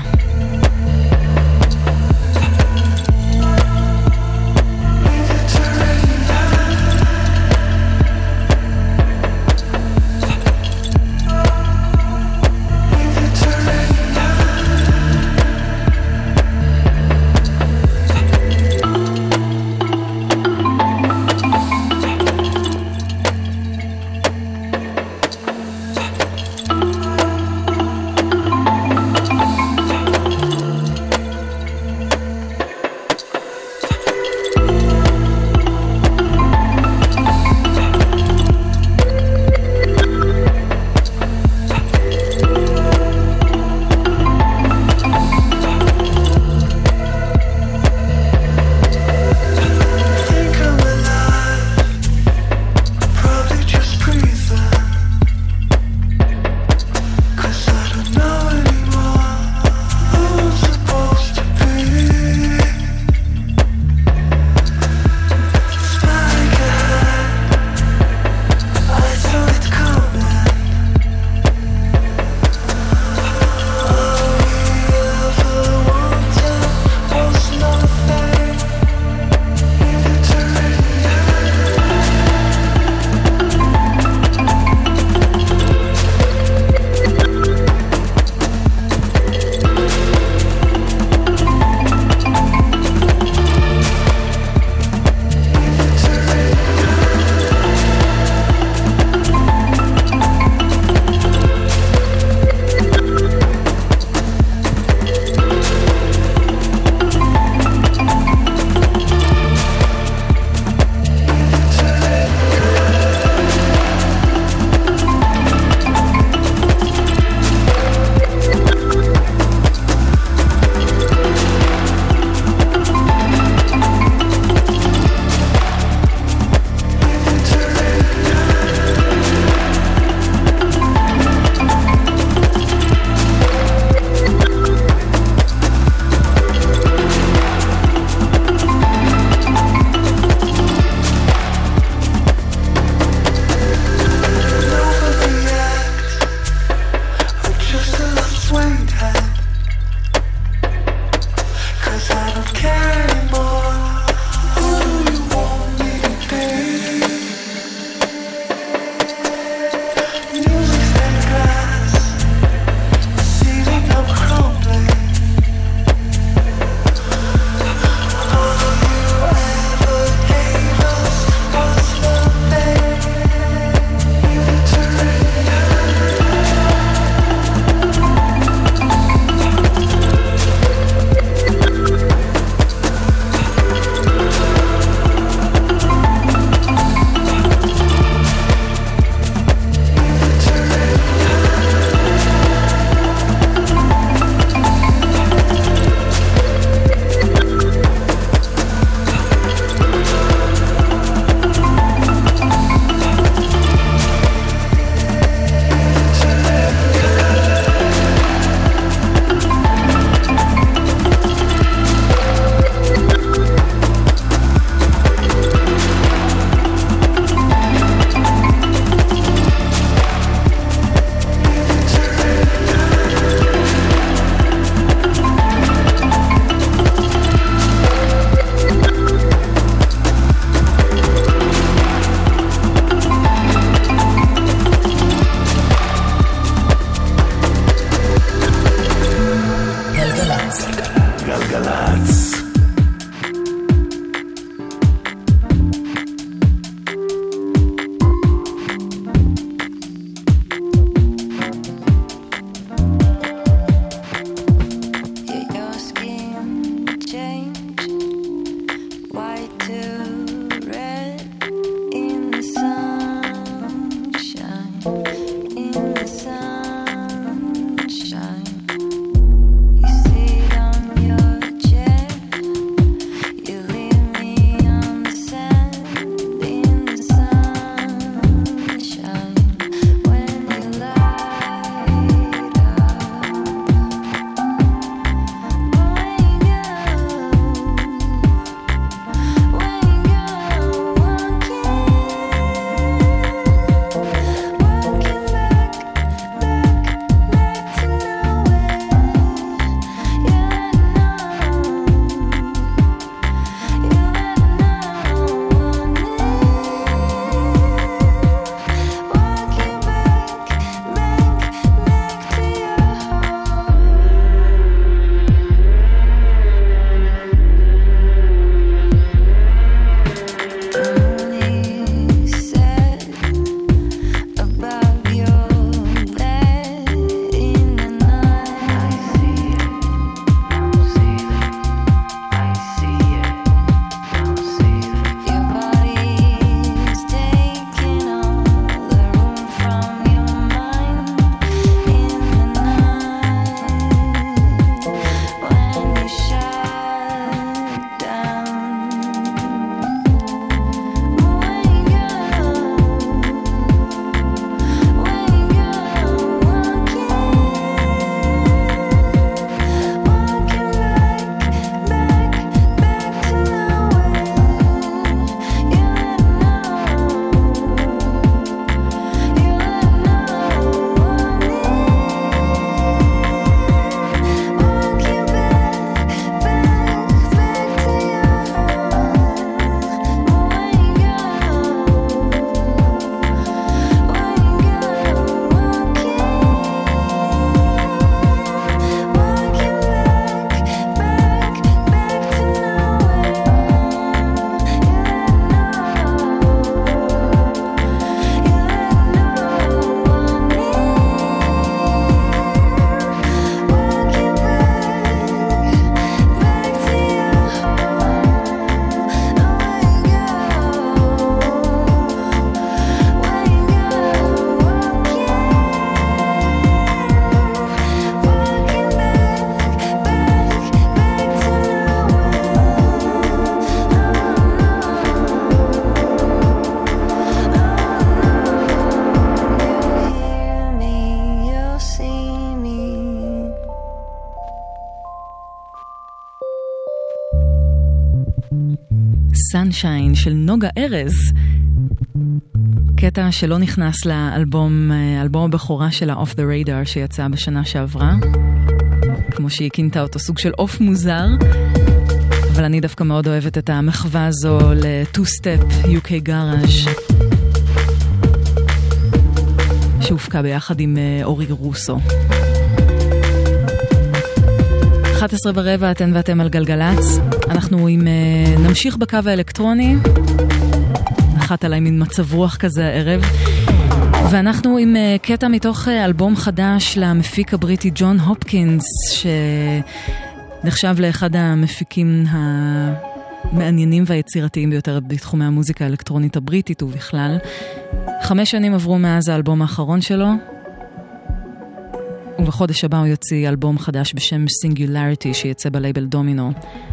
Sunshine של נוגה ארז. קטע שלא נכנס לאלבום, אלבום הבכורה שלה Off the Radar שיצא בשנה שעברה. כמו שהיא כינתה אותו, סוג של אוף מוזר. אבל אני דווקא מאוד אוהבת את המחווה הזו ל-two-step יו קיי Garage. שהופקה ביחד עם אורי רוסו. אחת עשרה ורבע אתן ואתם על גלגלץ. אנחנו עם, נמשיך בקו האלקטרוני. נחת עליי מין מצב רוח כזה הערב. ואנחנו עם קטע מתוך אלבום חדש למפיק הבריטי ג'ון הופקינס, שנחשב לאחד המפיקים המעניינים והיצירתיים ביותר בתחומי המוזיקה האלקטרונית הבריטית ובכלל. חמש שנים עברו מאז האלבום האחרון שלו, ובחודש הבא הוא יוציא אלבום חדש בשם Singularity שיצא בלייבל דומינו.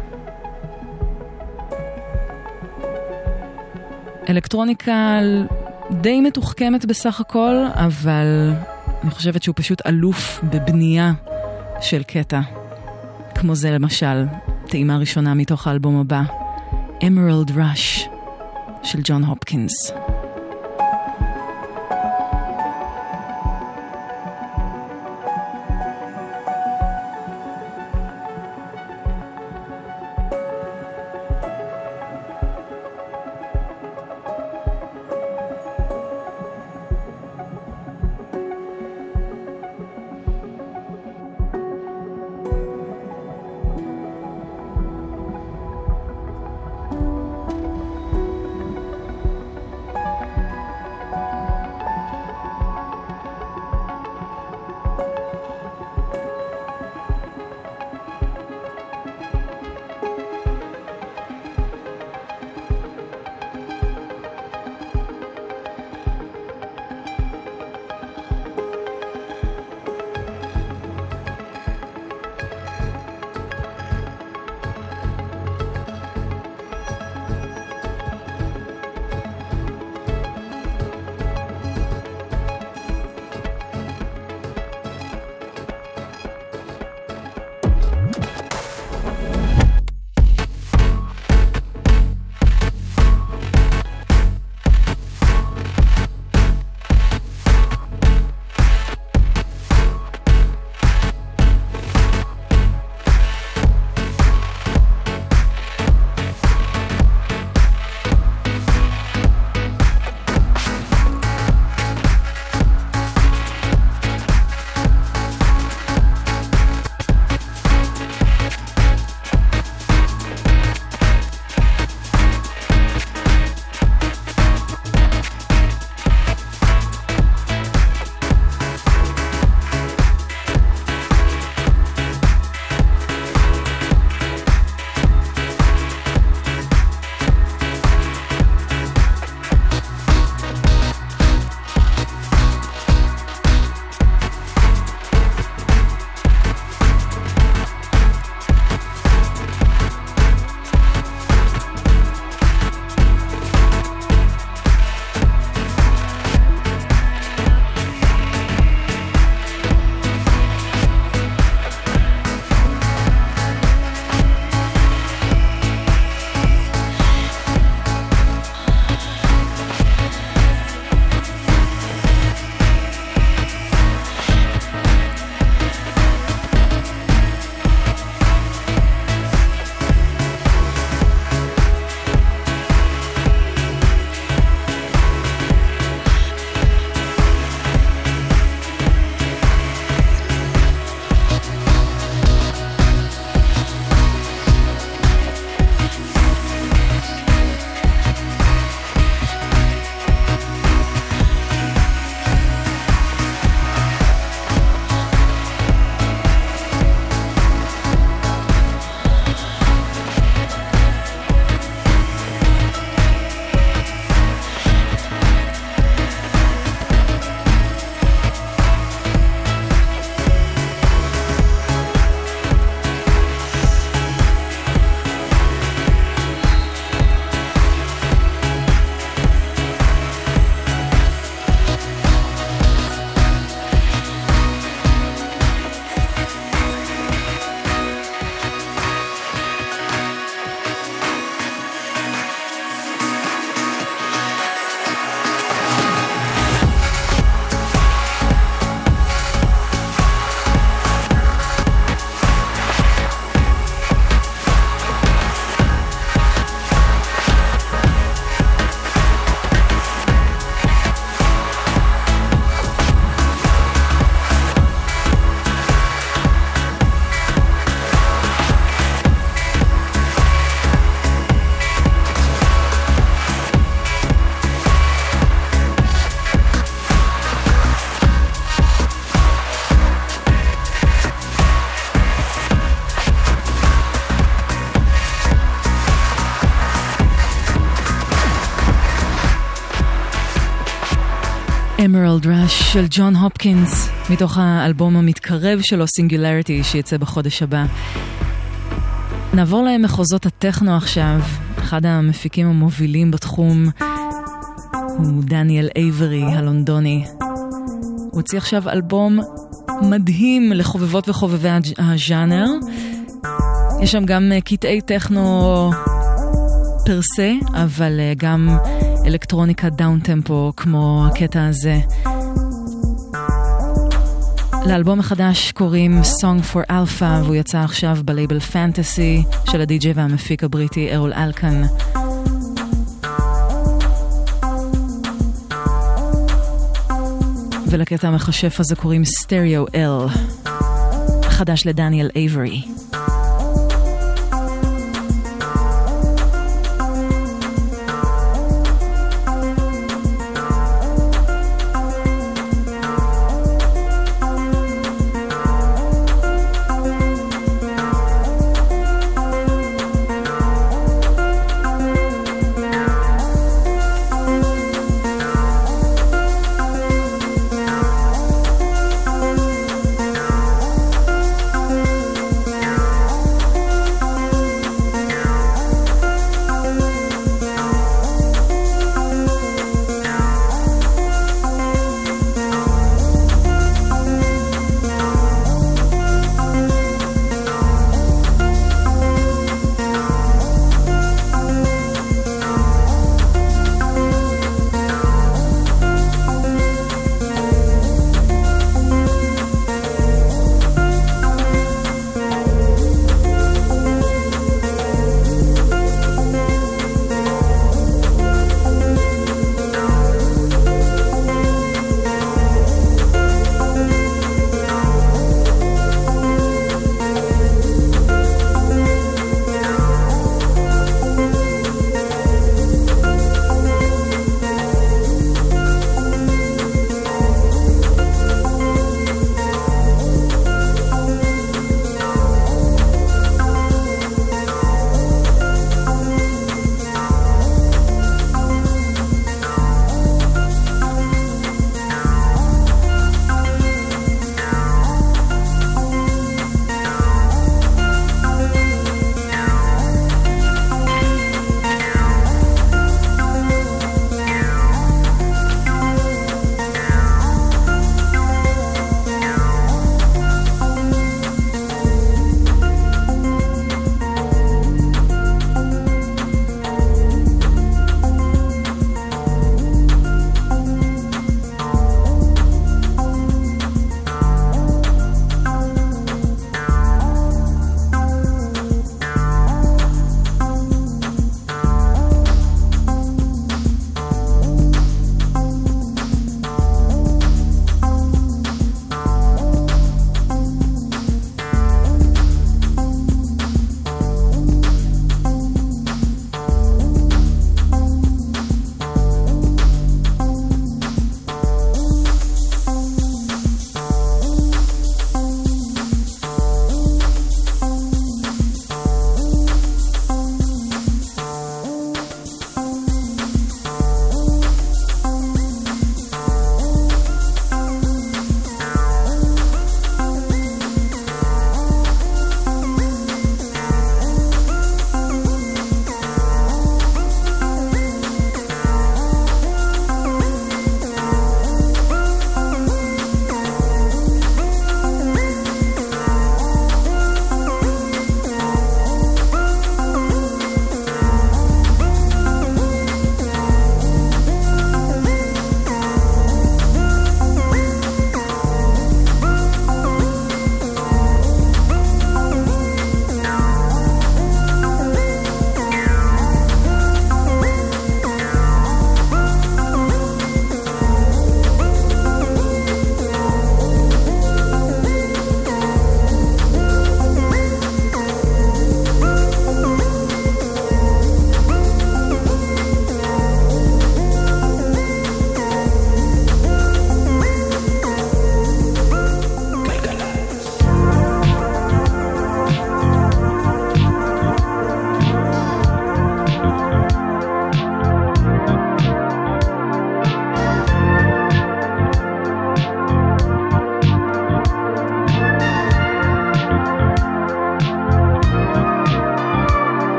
אלקטרוניקה די מתוחכמת בסך הכל, אבל אני חושבת שהוא פשוט אלוף בבנייה של קטע. כמו זה למשל, טעימה ראשונה מתוך האלבום הבא, Emerald Rush של ג'ון הופקינס. Emerald Rush של ג'ון הופקינס, מתוך האלבום המתקרב שלו, Singularity, שיצא בחודש הבא. נעבור למחוזות הטכנו עכשיו. אחד המפיקים המובילים בתחום הוא דניאל אייברי הלונדוני. הוא הוציא עכשיו אלבום מדהים לחובבות וחובבי הז'אנר. יש שם גם קטעי טכנו פרסה, אבל גם אלקטרוניקה דאון טמפו כמו הקטע הזה. לאלבום החדש קוראים Song for Alpha, והוא יצא עכשיו בלייבל פנטסי של הדי-ג'יי והמפיק הבריטי ארול אלקן. ולקטע המחשף הזה קוראים Stereo L, חדש לדניאל אייברי. Thank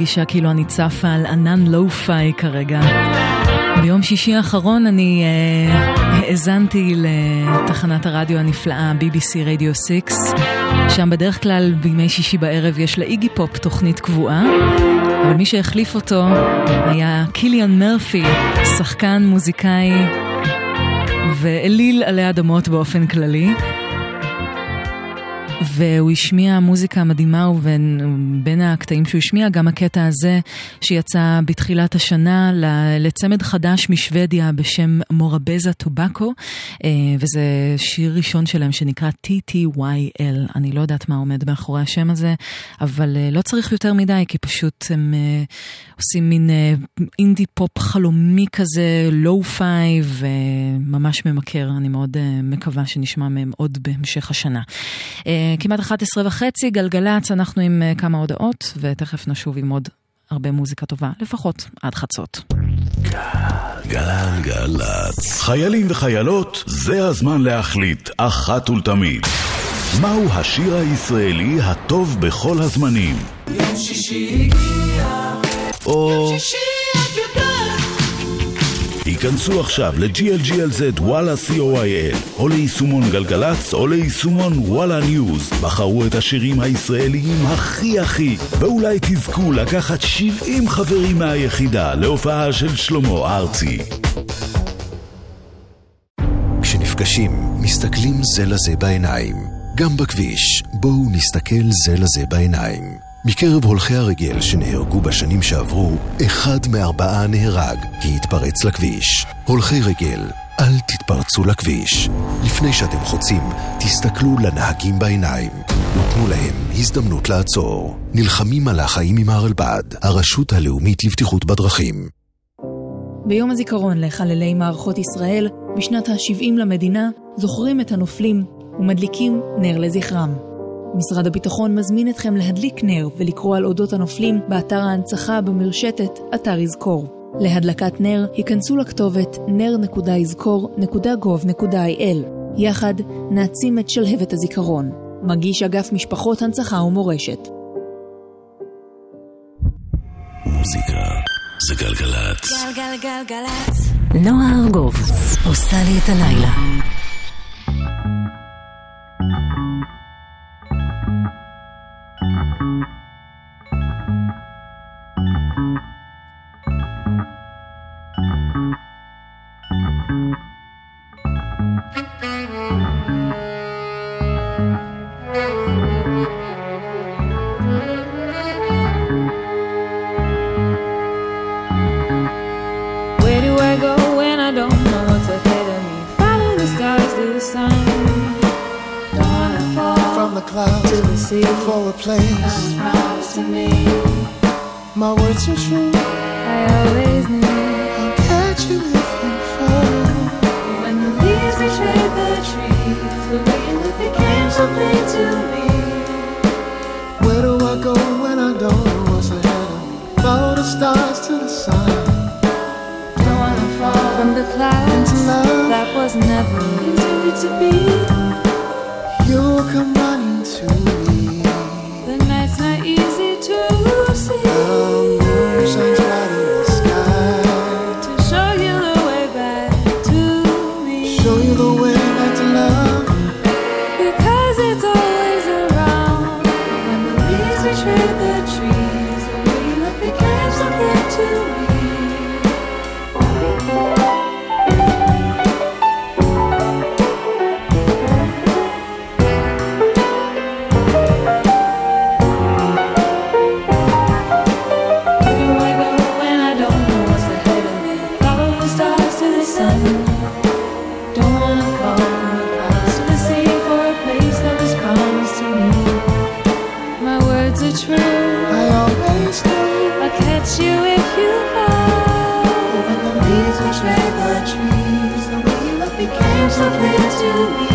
מרגישה כאילו אני צפה על ענן לואו-פיי כרגע. ביום שישי האחרון אני uh, האזנתי לתחנת הרדיו הנפלאה בי בי סי רדיו שש, שם בדרך כלל בימי שישי בערב יש לאיגי פופ תוכנית קבועה, אבל מי שהחליף אותו היה קיליאן מרפי, שחקן, מוזיקאי ואליל עלי אדמות באופן כללי, והוא השמיע מוזיקה מדהימה, ובין הקטעים שהוא השמיע גם הקטע הזה שיצא בתחילת השנה לצמד חדש משוודיה בשם מורבזה טובקו, וזה שיר ראשון שלהם שנקרא טי טי וואי אל. אני לא יודעת מה עומד מאחורי השם הזה, אבל לא צריך יותר מדי, כי פשוט הם עושים מין אינדי פופ חלומי כזה, לואו-פיי, וממש ממכר. אני מאוד מקווה שנשמע מהם עוד בהמשך השנה. כמעט אחת עשרה וחצי, גלגלץ, אנחנו עם כמה הודעות, ותכף נשוב עם עוד הרבה מוזיקה טובה, לפחות עד חצות. גלגלץ. חיילים וחיילות, זה הזמן להחליט אחת ולתמיד. מהו השיר הישראלי הטוב בכל הזמנים? יום שישי הגיע, או... יום שישי את יודעת. היכנסו עכשיו ל-ג'י אל ג'י אל זד וואלה סי או איי אל או ליישומון גלגלץ או ליישומון וואלה ניוז. בחרו את השירים הישראליים הכי הכי, ואולי תזכו לקחת שבעים חברים מהיחידה להופעה של שלמה ארצי. כשנפגשים, מסתכלים זה לזה בעיניים. גם בכביש, בואו נסתכל זה לזה בעיניים. מקרב הולכי הרגל שנהרגו בשנים שעברו, אחד מארבעה נהרג כי התפרץ לכביש. הולכי רגל, אל תתפרצו לכביש. לפני שאתם חוצים, תסתכלו לנהגים בעיניים. ותנו להם הזדמנות לעצור. נלחמים על החיים עם הרלב"ד, הרשות הלאומית לבטיחות בדרכים. ביום הזיכרון לחללי מערכות ישראל, בשנת ה-שבעים למדינה, זוכרים את הנופלים ומדליקים נר לזכרם. משרד הביטחון מזמין אתכם להדליק נר ולקרוא על אודות הנופלים באתר ההנצחה במרשתת אתר יזכור. להדלקת נר היכנסו לכתובת נר נקודה יזכור נקודה גוב נקודה איי אל. יחד נעצים את שלהבת הזיכרון. מגיש אגף משפחות הנצחה ומורשת. מוזיקה זה גלגלץ. גלגלגלגלץ. נועה ארגוב עושה לי את הלילה. Where do I go when I don't know what's ahead of me? Follow the stars to the sun. Don't wanna fall from the clouds to the sea for a place. God's promise to me. My words are true. I always knew I'll catch you if you fall. when the leaves betrayed the trees. The wind that became something to me. Where do I go when I don't know what's ahead of me? Follow the stars to the sun. Don't wanna fall from the clouds into love that was never intended to be. You'll come running to me. The night's not easy to see. The moon shines bright in the sky to show you the way back to me. Show you the way back to love. Because it's always around. When the leaves betray the trees, the way you look became something to me. You if you fall. When the leaves betray the trees, the way you look became something to me.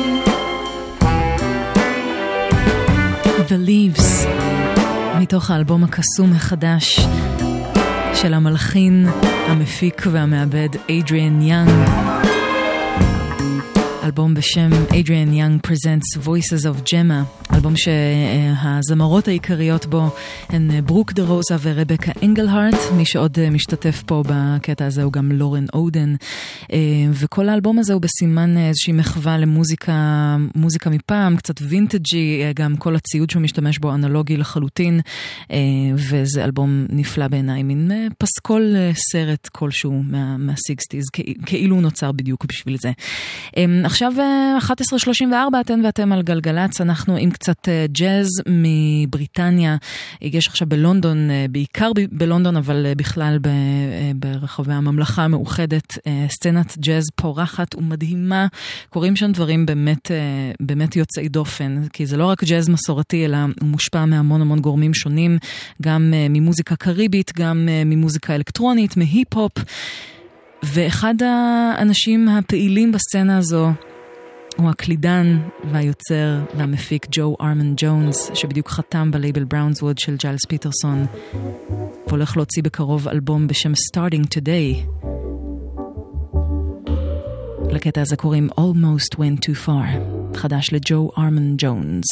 The Leaves, מתוך האלבום הקסום החדש של המלחין, המפיק והמעבד אדריאן יאנג. אלבום בשם Adrian Young Presents Voices of Gemma, אלבום שהזמרות העיקריות בו הן ברוק דה רוזה ורבקה אנגלהארט, מי שעוד משתתף פה בקטע הזה הוא גם לורן אודן, וכל האלבום הזה הוא בסימן איזושהי מחווה למוזיקה, מוזיקה מפעם, קצת וינטג'י, גם כל הציוד שהוא משתמש בו אנלוגי לחלוטין, וזה אלבום נפלא בעיניי, מין פסקול סרט כלשהו מה, מה-סיקסטיז, כאילו הוא נוצר בדיוק בשביל זה. עכשיו אחת עשרה שלושים וארבע, אתן ואתם על גלגלץ, אנחנו עם קצת ג'אז מבריטניה, יש עכשיו בלונדון, בעיקר בלונדון, אבל בכלל ברחבי הממלכה המאוחדת, סצנת ג'אז פורחת ומדהימה, קוראים שם דברים באמת, באמת יוצאי דופן, כי זה לא רק ג'אז מסורתי, אלא הוא מושפע מהמון המון גורמים שונים, גם ממוזיקה קריבית, גם ממוזיקה אלקטרונית, מהיפ-הופ, ואחד האנשים הפעילים בסצנה הזו הוא הקלידן והיוצר והמפיק ג'ו ארמן ג'ונס, שבדיוק חתם בלייבל בראונסווד של ג'יילס פיטרסון, והולך להוציא בקרוב אלבום בשם Starting Today. לקטע הזה קוראים Almost Went Too Far, חדש לג'ו ארמן ג'ונס.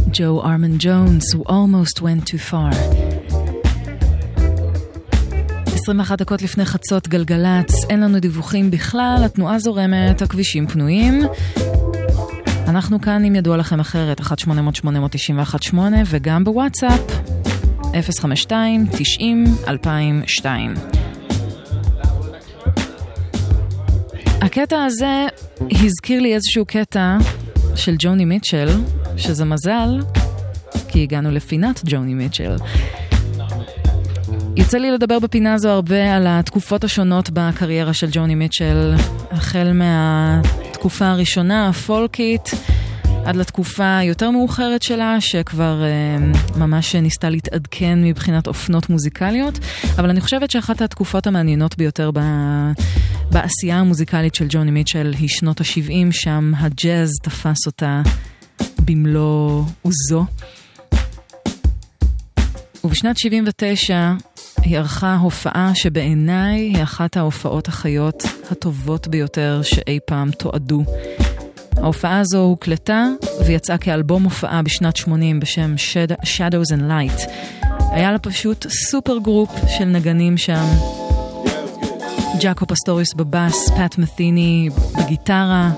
Joe Armand Jones, who almost went too far. עשרים ואחת דקות לפני חצות גלגלץ, אין לנו דיווחים בכלל, התנועה זורמת, הכבישים פנויים. אנחנו כאן אם ידוע לכם אחרת, אחת שמונה אפס אפס שמונה תשע אחת שמונה, וגם בוואטסאפ, אפס חמש שתיים תשעים אלפיים ושתיים. הקטע הזה הזכיר לי איזשהו קטע של ג'וני מיטשל, שזה מזל, כי הגענו לפינת ג'וני מיטשל. יוצא לי לדבר בפינה הזו הרבה על התקופות השונות בקריירה של ג'וני מיטשל, החל מהתקופה הראשונה, הפולקית, עד לתקופה יותר מאוחרת שלה, שכבר uh, ממש ניסתה להתעדכן מבחינת אופנות מוזיקליות, אבל אני חושבת שאחת התקופות המעניינות ביותר ב... בעשייה המוזיקלית של ג'וני מיטשל היא שנות ה-שבעים, שם הג'אז תפס אותה במלוא עוזו. ובשנת שבעים ותשע היא ערכה הופעה שבעיניי היא אחת ההופעות החיות הטובות ביותר שאי פעם תועדו. ההופעה הזו הוקלטה ויצאה כאלבום הופעה בשנת שמונים בשם Shadows and Light. היה לה פשוט סופר גרופ של נגנים שם. ג'אקו פסטוריס בבאס, פאט מת'יני בגיטרה,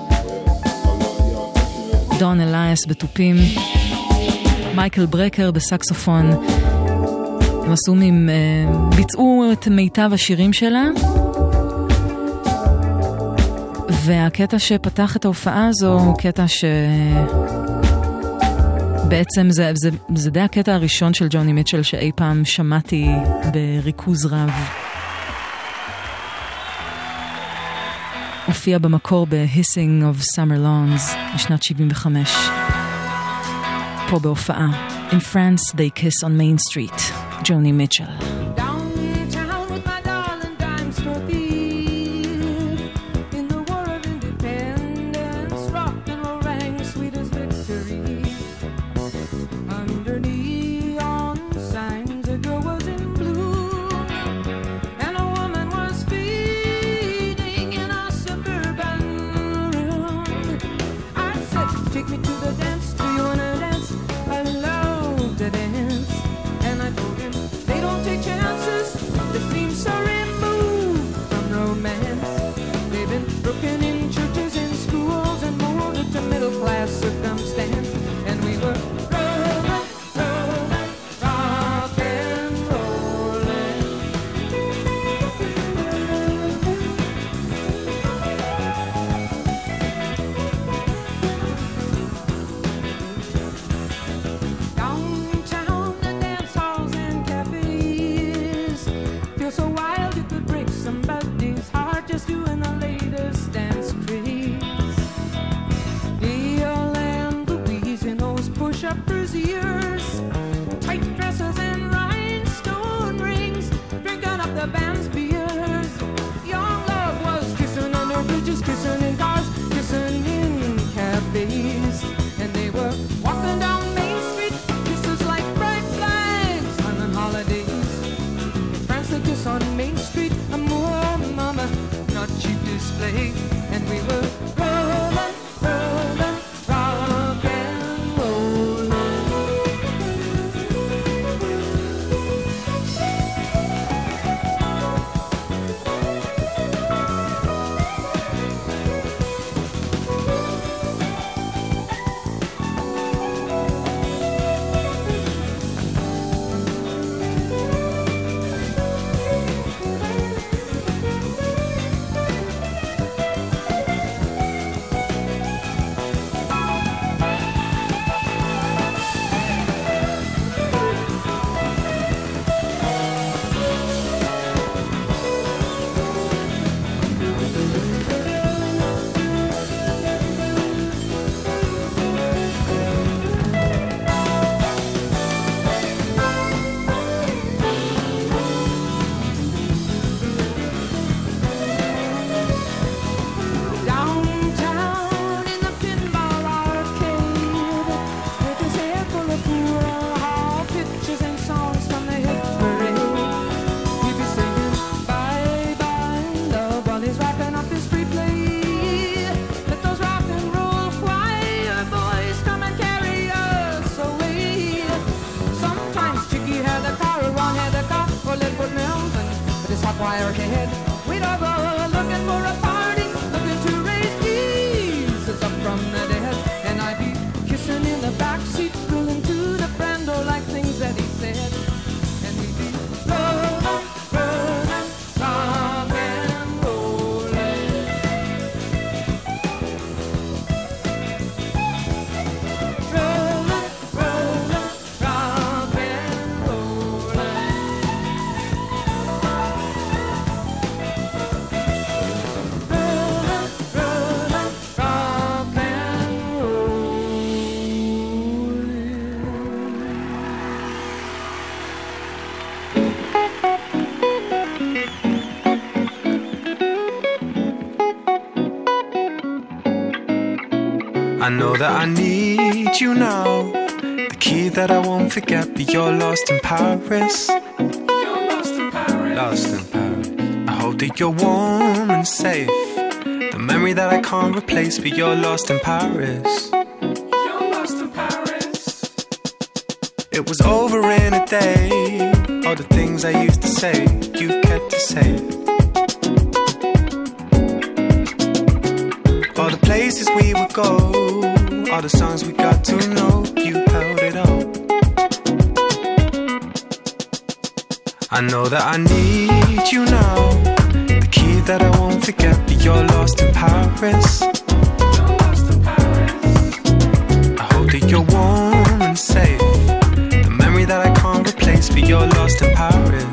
דון אלייס בטופים, מייקל ברקר בסקסופון. הם עשו מהם, ביצעו את מיטב השירים שלה, והקטע שפתח את ההופעה הזו הוא קטע ש... בעצם זה, זה, זה די הקטע הראשון של ג'וני מיטשל שאי פעם שמעתי בריכוז רב. הופיע במקור ב-Hissing of Summer Lawns בשנת שבעים וחמש. פה בהופעה. In France they kiss on Main Street. ג'וני מיטשל. that I need you now. The key that I won't forget, but you're lost in Paris. You're lost in Paris. Lost in Paris. I hope that you're warm and safe. The memory that I can't replace, but you're lost in Paris. You're lost in Paris. It was over in a day. All the things I used to say, you kept to say. All the places we would go, all the songs we got to know, you held it all. I know that I need you now. The key that I won't forget, but you're lost in Paris. You're lost in Paris. I hope that you're warm and safe. The memory that I can't replace, but you're lost in Paris.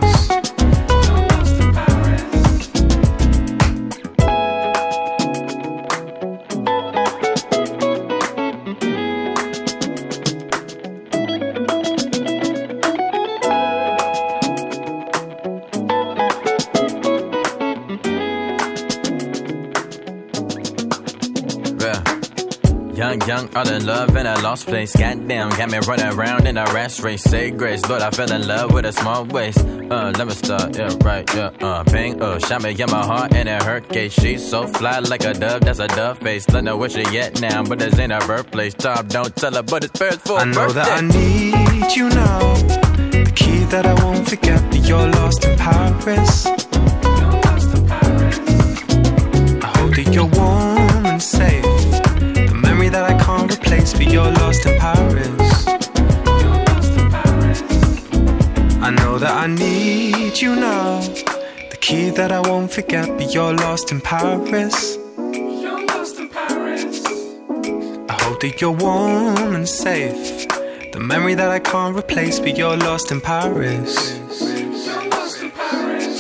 Young, young, all in love in a lost place. Goddamn, got me running around in a rat race. Say grace, Lord, I fell in love with a small waist. Uh, let me start, yeah, right, yeah, uh, bang, uh, shot me in my heart and it hurt case. She's so fly like a dove, that's a dove face. Don't know where she at now, but it's in her birthplace. Tom, don't tell her, but it's first for I know birthday. that I need you now. The key that I won't forget, but you're lost in Paris. You're lost in Paris. I hope that you're warm and safe. That I can't replace, but you're lost in Paris. You're lost in Paris. I know that I need you now. The key that I won't forget, but you're lost in Paris. You're lost in Paris. I hope that you're warm and safe. The memory that I can't replace, but you're lost in Paris. You're lost in Paris.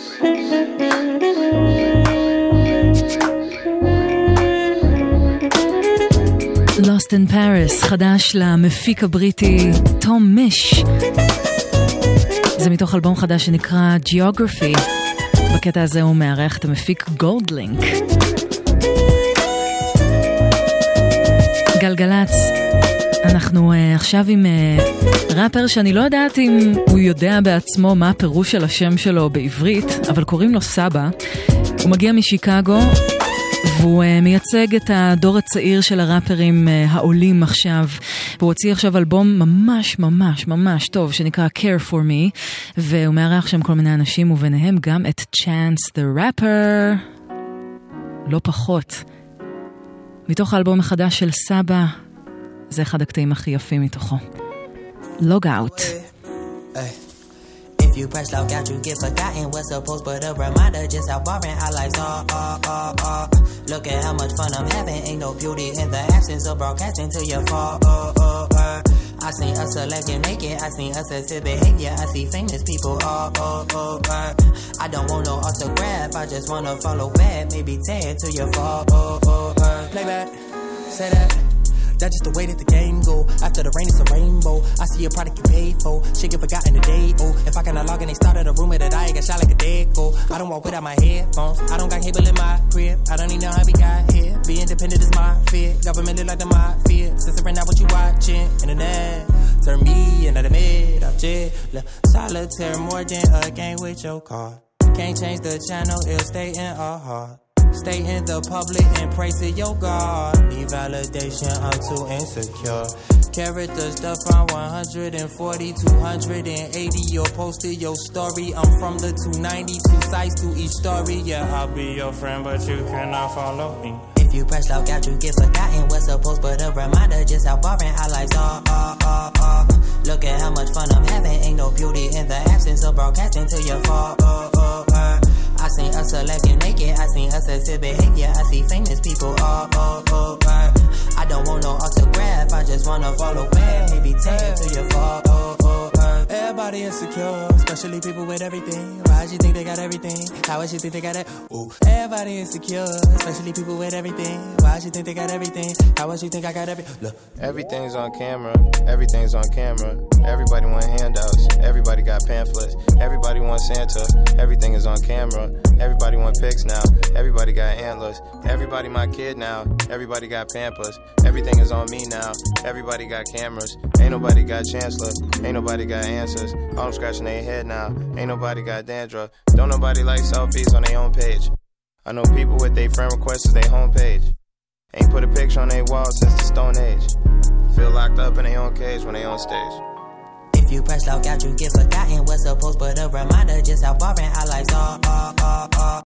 Lost in Paris, חדש למפיק הבריטי תום מיש. זה מתוך אלבום חדש שנקרא Geography. בקטע הזה הוא מארח את המפיק גולדלינק. גלגלץ, אנחנו uh, עכשיו עם uh, ראפר שאני לא יודעת אם הוא יודע בעצמו מה הפירוש של השם שלו בעברית, אבל קוראים לו סבא. הוא מגיע משיקגו, והוא uh, מייצג את הדור הצעיר של הראפרים uh, העולים עכשיו. והוא הוציא עכשיו אלבום ממש ממש ממש טוב שנקרא Care For Me, והוא מארח שם כל מיני אנשים וביניהם גם את Chance the Rapper. לא פחות. מתוך האלבום החדש של סבא, זה אחד הקטעים הכי יפים מתוכו. Log Out. If you press log out, you get forgotten what's supposed, but a reminder just how boring our lives are. Uh, uh, uh. Look at how much fun I'm having. Ain't no beauty in the absence of broadcasting till you fall. Uh, uh, uh. I seen us select and make it. I seen us exhibit behavior. I see famous people. Uh, uh, uh, uh. I don't want no autograph. I just wanna follow back. Maybe tag till you fall. Uh, uh, uh. Play back. Say that. That's just the way that the game go. After the rain, it's a rainbow. I see a product you paid for. Shit get forgotten today. Oh, if I cannot log in, they started a rumor that I got shot like a dead go. I don't walk without my headphones. I don't got cable in my crib. I don't even know how we got here. Be independent is my fear. Government look like the mafia. Censoring out what you watching. Internet turn me into the mid object. Solitaire more than a game with your car. Can't change the channel, it'll stay in our heart. Stay in the public and pray to your God. Need validation, I'm too insecure. Characters stuff from one forty, two eighty. Your posted your story. I'm from the two ninety, two sides to each story. Yeah, I'll be your friend, but you cannot follow me. If you press log out, you get forgotten what's supposed, but a reminder just how boring our lives are. Uh, uh, uh. Look at how much fun I'm having. Ain't no beauty in the absence of broadcasting till you fall. Uh, uh, uh. I seen us select and make it. I seen us exhibit behavior. I see famous people. Oh, oh, oh, uh. I don't want no autograph. I just wanna follow back. Maybe tag till you fall. Oh, oh, uh. Everybody insecure, especially Especially people with everything. Why she think they got everything? How would she think they got it? Ooh, everybody insecure. Especially people with everything. Why she think they got everything? How would she think I got everything? Look, everything's on camera. Everything's on camera. Everybody want handouts. Everybody got pamphlets. Everybody wants Santa. Everything is on camera. Everybody want pics now. Everybody got antlers. Everybody my kid now. Everybody got Pampers. Everything is on me now. Everybody got cameras. Ain't nobody got chancellor. Ain't nobody got answers. All them scratching their head now. Ain't nobody got dandruff. Don't nobody like selfies on their own page. I know people with their friend requests as their homepage. Ain't put a picture on their wall since the Stone Age. Feel locked up in their own cage when they on stage. if you press log out, you get forgotten what's supposed, but a reminder just how boring our lives are. are, are, are.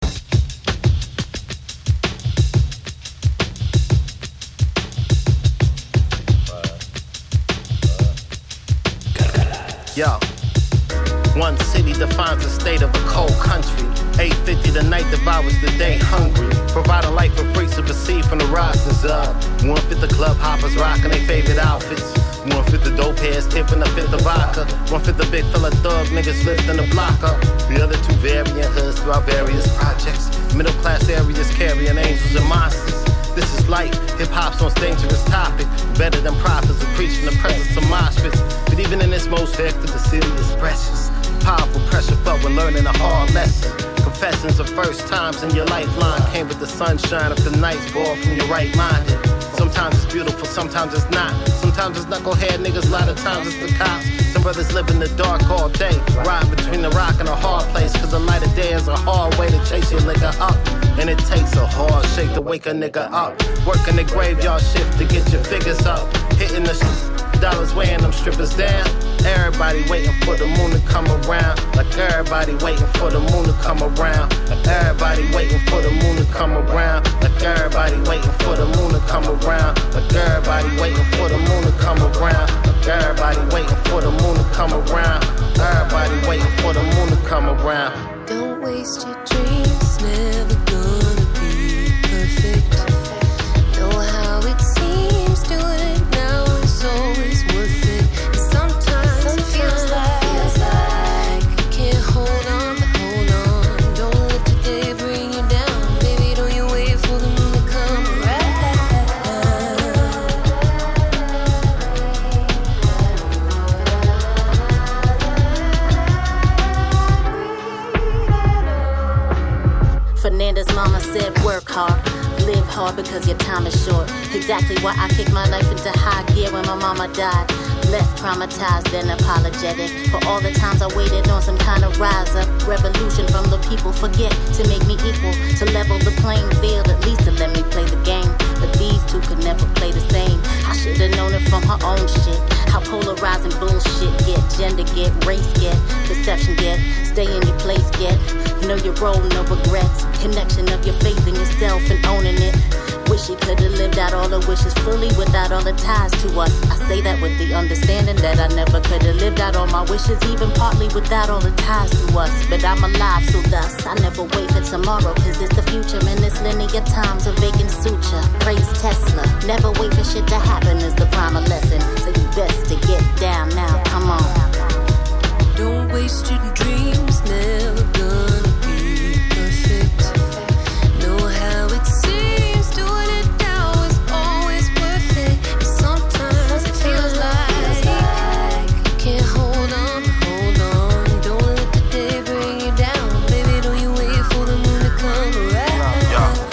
Yo, one city defines the state of a cold country. eight fifty the night devours the day hungry. Providing life for free to receive from the rosters of one fit the club hoppers rocking their favorite outfits. One fit the dope heads tipping a fifth of vodka. One fit the big fella thug niggas lifting the block up. The other two variant hoods throughout various projects. Middle class areas carrying angels and monsters. This is life, hip-hop's most dangerous topic. Better than prophets of preaching the presence of mosh pits. But even in this most hectic, the city is precious. Powerful pressure felt when learning a hard lesson. Confessions of first times in your lifeline came with the sunshine of the nights fall from your right-minded. Sometimes it's beautiful, sometimes it's not. Sometimes it's knucklehead niggas, a lot of times it's the cops. Some brothers live in the dark all day, ride between the rock and a hard place. Cause the light of day is a hard way to chase your nigga up. And it takes a hard shake to wake a nigga up. Working the graveyard shift to get your figures up. Hitting the sh- dollars weighing them strippers down. Everybody waiting for the moon to come around. Like everybody waiting for the moon to come around. Like everybody waiting for the moon to come around. Like everybody waiting for the moon to come around. Like everybody waiting for the moon to come around. Like everybody waiting for the moon to come around. Everybody waiting for the moon to come around. Don't waste your dreams, never gonna be perfect. Know how it seems, doing it now is always worth it. Sometimes, Sometimes it feels like, feels like you can't hold on, but hold on. Don't let today bring you down. Baby, don't you wait for the moon to come around. Fernanda's mama said work hard, live hard because your time is short. Exactly why I kicked my life into high gear when my mama died. Less traumatized than apologetic for all the times I waited on some kind of rise up. Revolution from the people, forget to make me equal, to level the playing field, at least to let me play the game. But these two could never play the same. I should've known it from her own shit. How polarizing bullshit get, gender get, race get, perception get, stay in your place get. Know your role, no regrets. Connection of your faith in yourself and owning it. Wish you could've lived out all the wishes fully without all the ties to us. I say that with the understanding that I never could've lived out all my wishes, even partly without all the ties to us. But I'm alive, so thus I never wait for tomorrow, cause it's the future. In this linear time's a vacant suture. Praise Tesla, never wait for shit to happen is the primer lesson. So you best to get down now, come on. Don't waste your dreams, never gonna be perfect. Know how it seems, doing it now is always worth it. And sometimes it feels like you can't hold on, hold on. Don't let the day bring you down. Baby, don't you wait for the moon to come around.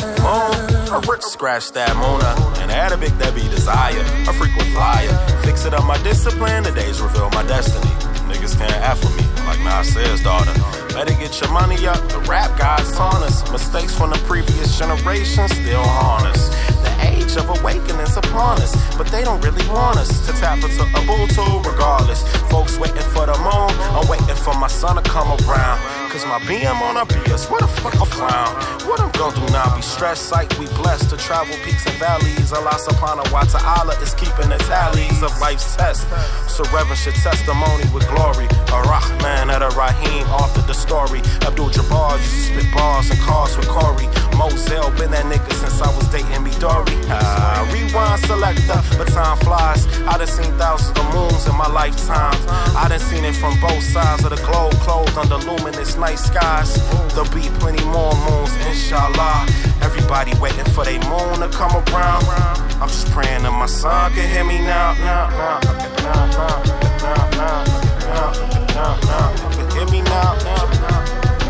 Yeah, moon, a rich scratch that Mona. An Arabic that be desire, a frequent flyer. Fix it up my discipline, the days reveal my destiny. Niggas can't F with me, like Nas says, daughter. Better get your money up, the rap gods on us. Mistakes from the previous generation still haunt us. The age of awakening's upon us, but they don't really want us to tap into Ubuntu regardless. Folks waiting for the moon, I'm waiting for my son to come around. Cause my B M on a B S, what the fuck a frown? What I'm gonna do now, be stressed, sight, we blessed to travel peaks and valleys. Allah subhanahu wa ta'ala is keeping the tallies of life's test. So reverence your testimony with glory. Ar-Rahman at Ar-Rahim authored the story. Abdul-Jabbar used to spit bars and cars with Corey. Moselle been that nigga since I was dating me Dory. Ah, rewind selector, but time flies. I done seen thousands of moons in my lifetime. I done seen it from both sides of the globe, clothed under luminous night skies. There'll be plenty more moons, inshallah. Everybody waiting for their moon to come around. I'm just praying that my son can hear me now, now, now, now, now, now, now, now, now, now, can hear me now, now, now.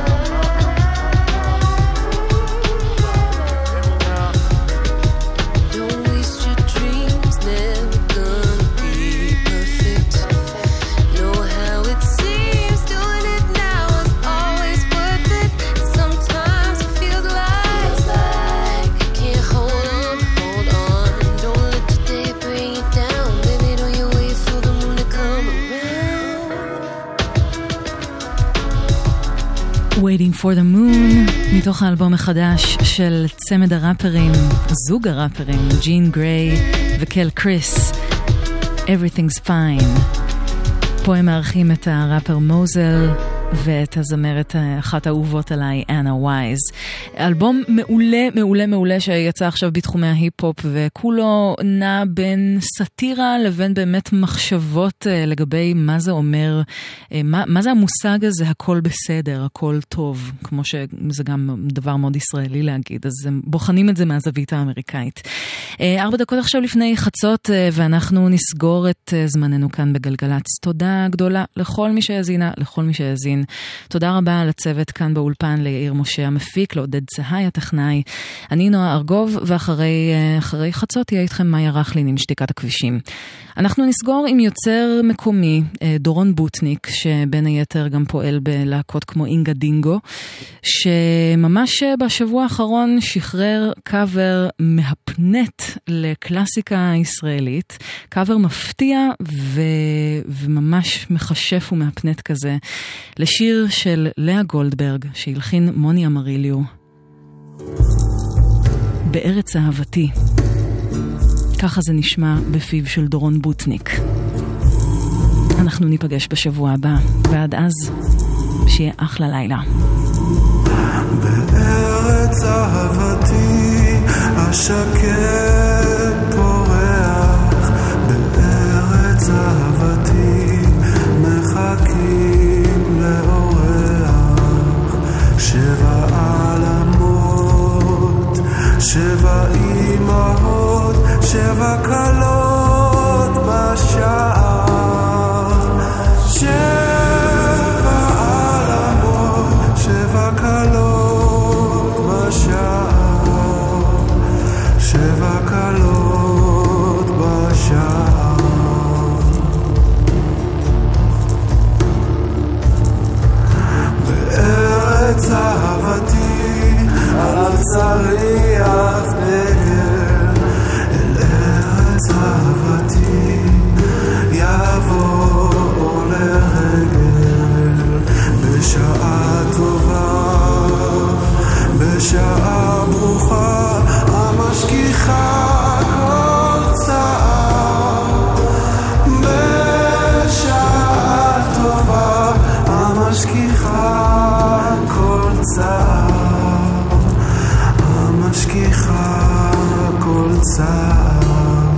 Waiting for the Moon, מתוך האלבום החדש של צמד הראפרים, זוג הראפרים, ג'ין גריי וקל קריס, Everything's Fine. פה הם מארחים את הראפר מוזל ואת הזמרת אחת האהובות עליי, אנה וייז. אלבום מעולה, מעולה, מעולה שיצא עכשיו בתחומי ההיפ-הופ, וכולו נע בין סאטירה לבין באמת מחשבות לגבי מה זה אומר, מה, מה זה המושג הזה, הכל בסדר, הכל טוב, כמו שזה גם דבר מאוד ישראלי להגיד, אז הם בוחנים את זה מהזווית האמריקאית. ארבע דקות עכשיו לפני חצות, ואנחנו נסגור את זמננו כאן בגלגלץ. תודה גדולה לכל מי שהזינה, לכל מי שהזין. תודה רבה לצוות כאן באולפן, ליאיר משה המפיק, לעודד צהי הטכנאי. אני נועה ארגוב, ואחרי אחרי חצות תהיה איתכם מאיה רחלין עם שתיקת הכבישים. אנחנו נסגור עם יוצר מקומי, דורון בוטניק, שבין היתר גם פועל בלהקות כמו אינגה דינגו, שממש בשבוע האחרון שחרר קאבר מהפנט לקלאסיקה ישראלית, קאבר מפתיע ו... וממש מחשף ומהפנט כזה, לשיר של לאה גולדברג, שהלחין מוני אמריליו, בארץ אהבתי. ככה זה נשמע בפיו של דורון בוטניק. אנחנו ניפגש בשבוע הבא, ועד אז שיהיה אחלה לילה. בארץ אהבתי השקט פורח, בארץ אהבתי מחכים לאורח, שבע עלמות, שבע אמהות, שבע קלות בשער, שבע עלמות, שבע קלות בשער, שבע קלות בשער. בארץ אהבתי על צריח נגר, אל ארץ אהבתי יבוא לרגל, בשעה טובה, בשעה ברוכה, המשכיחה כל צער, בשעה טובה, המשכיחה כל צער, המשכיחה כל צער.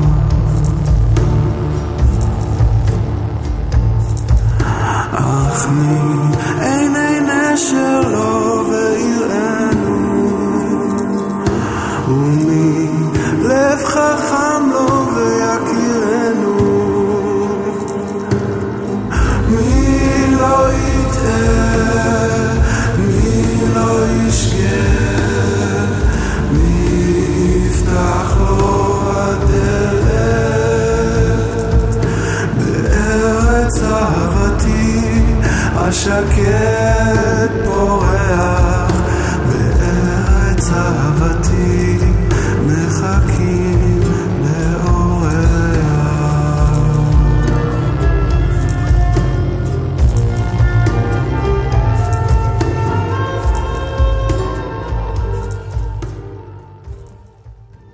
אך מי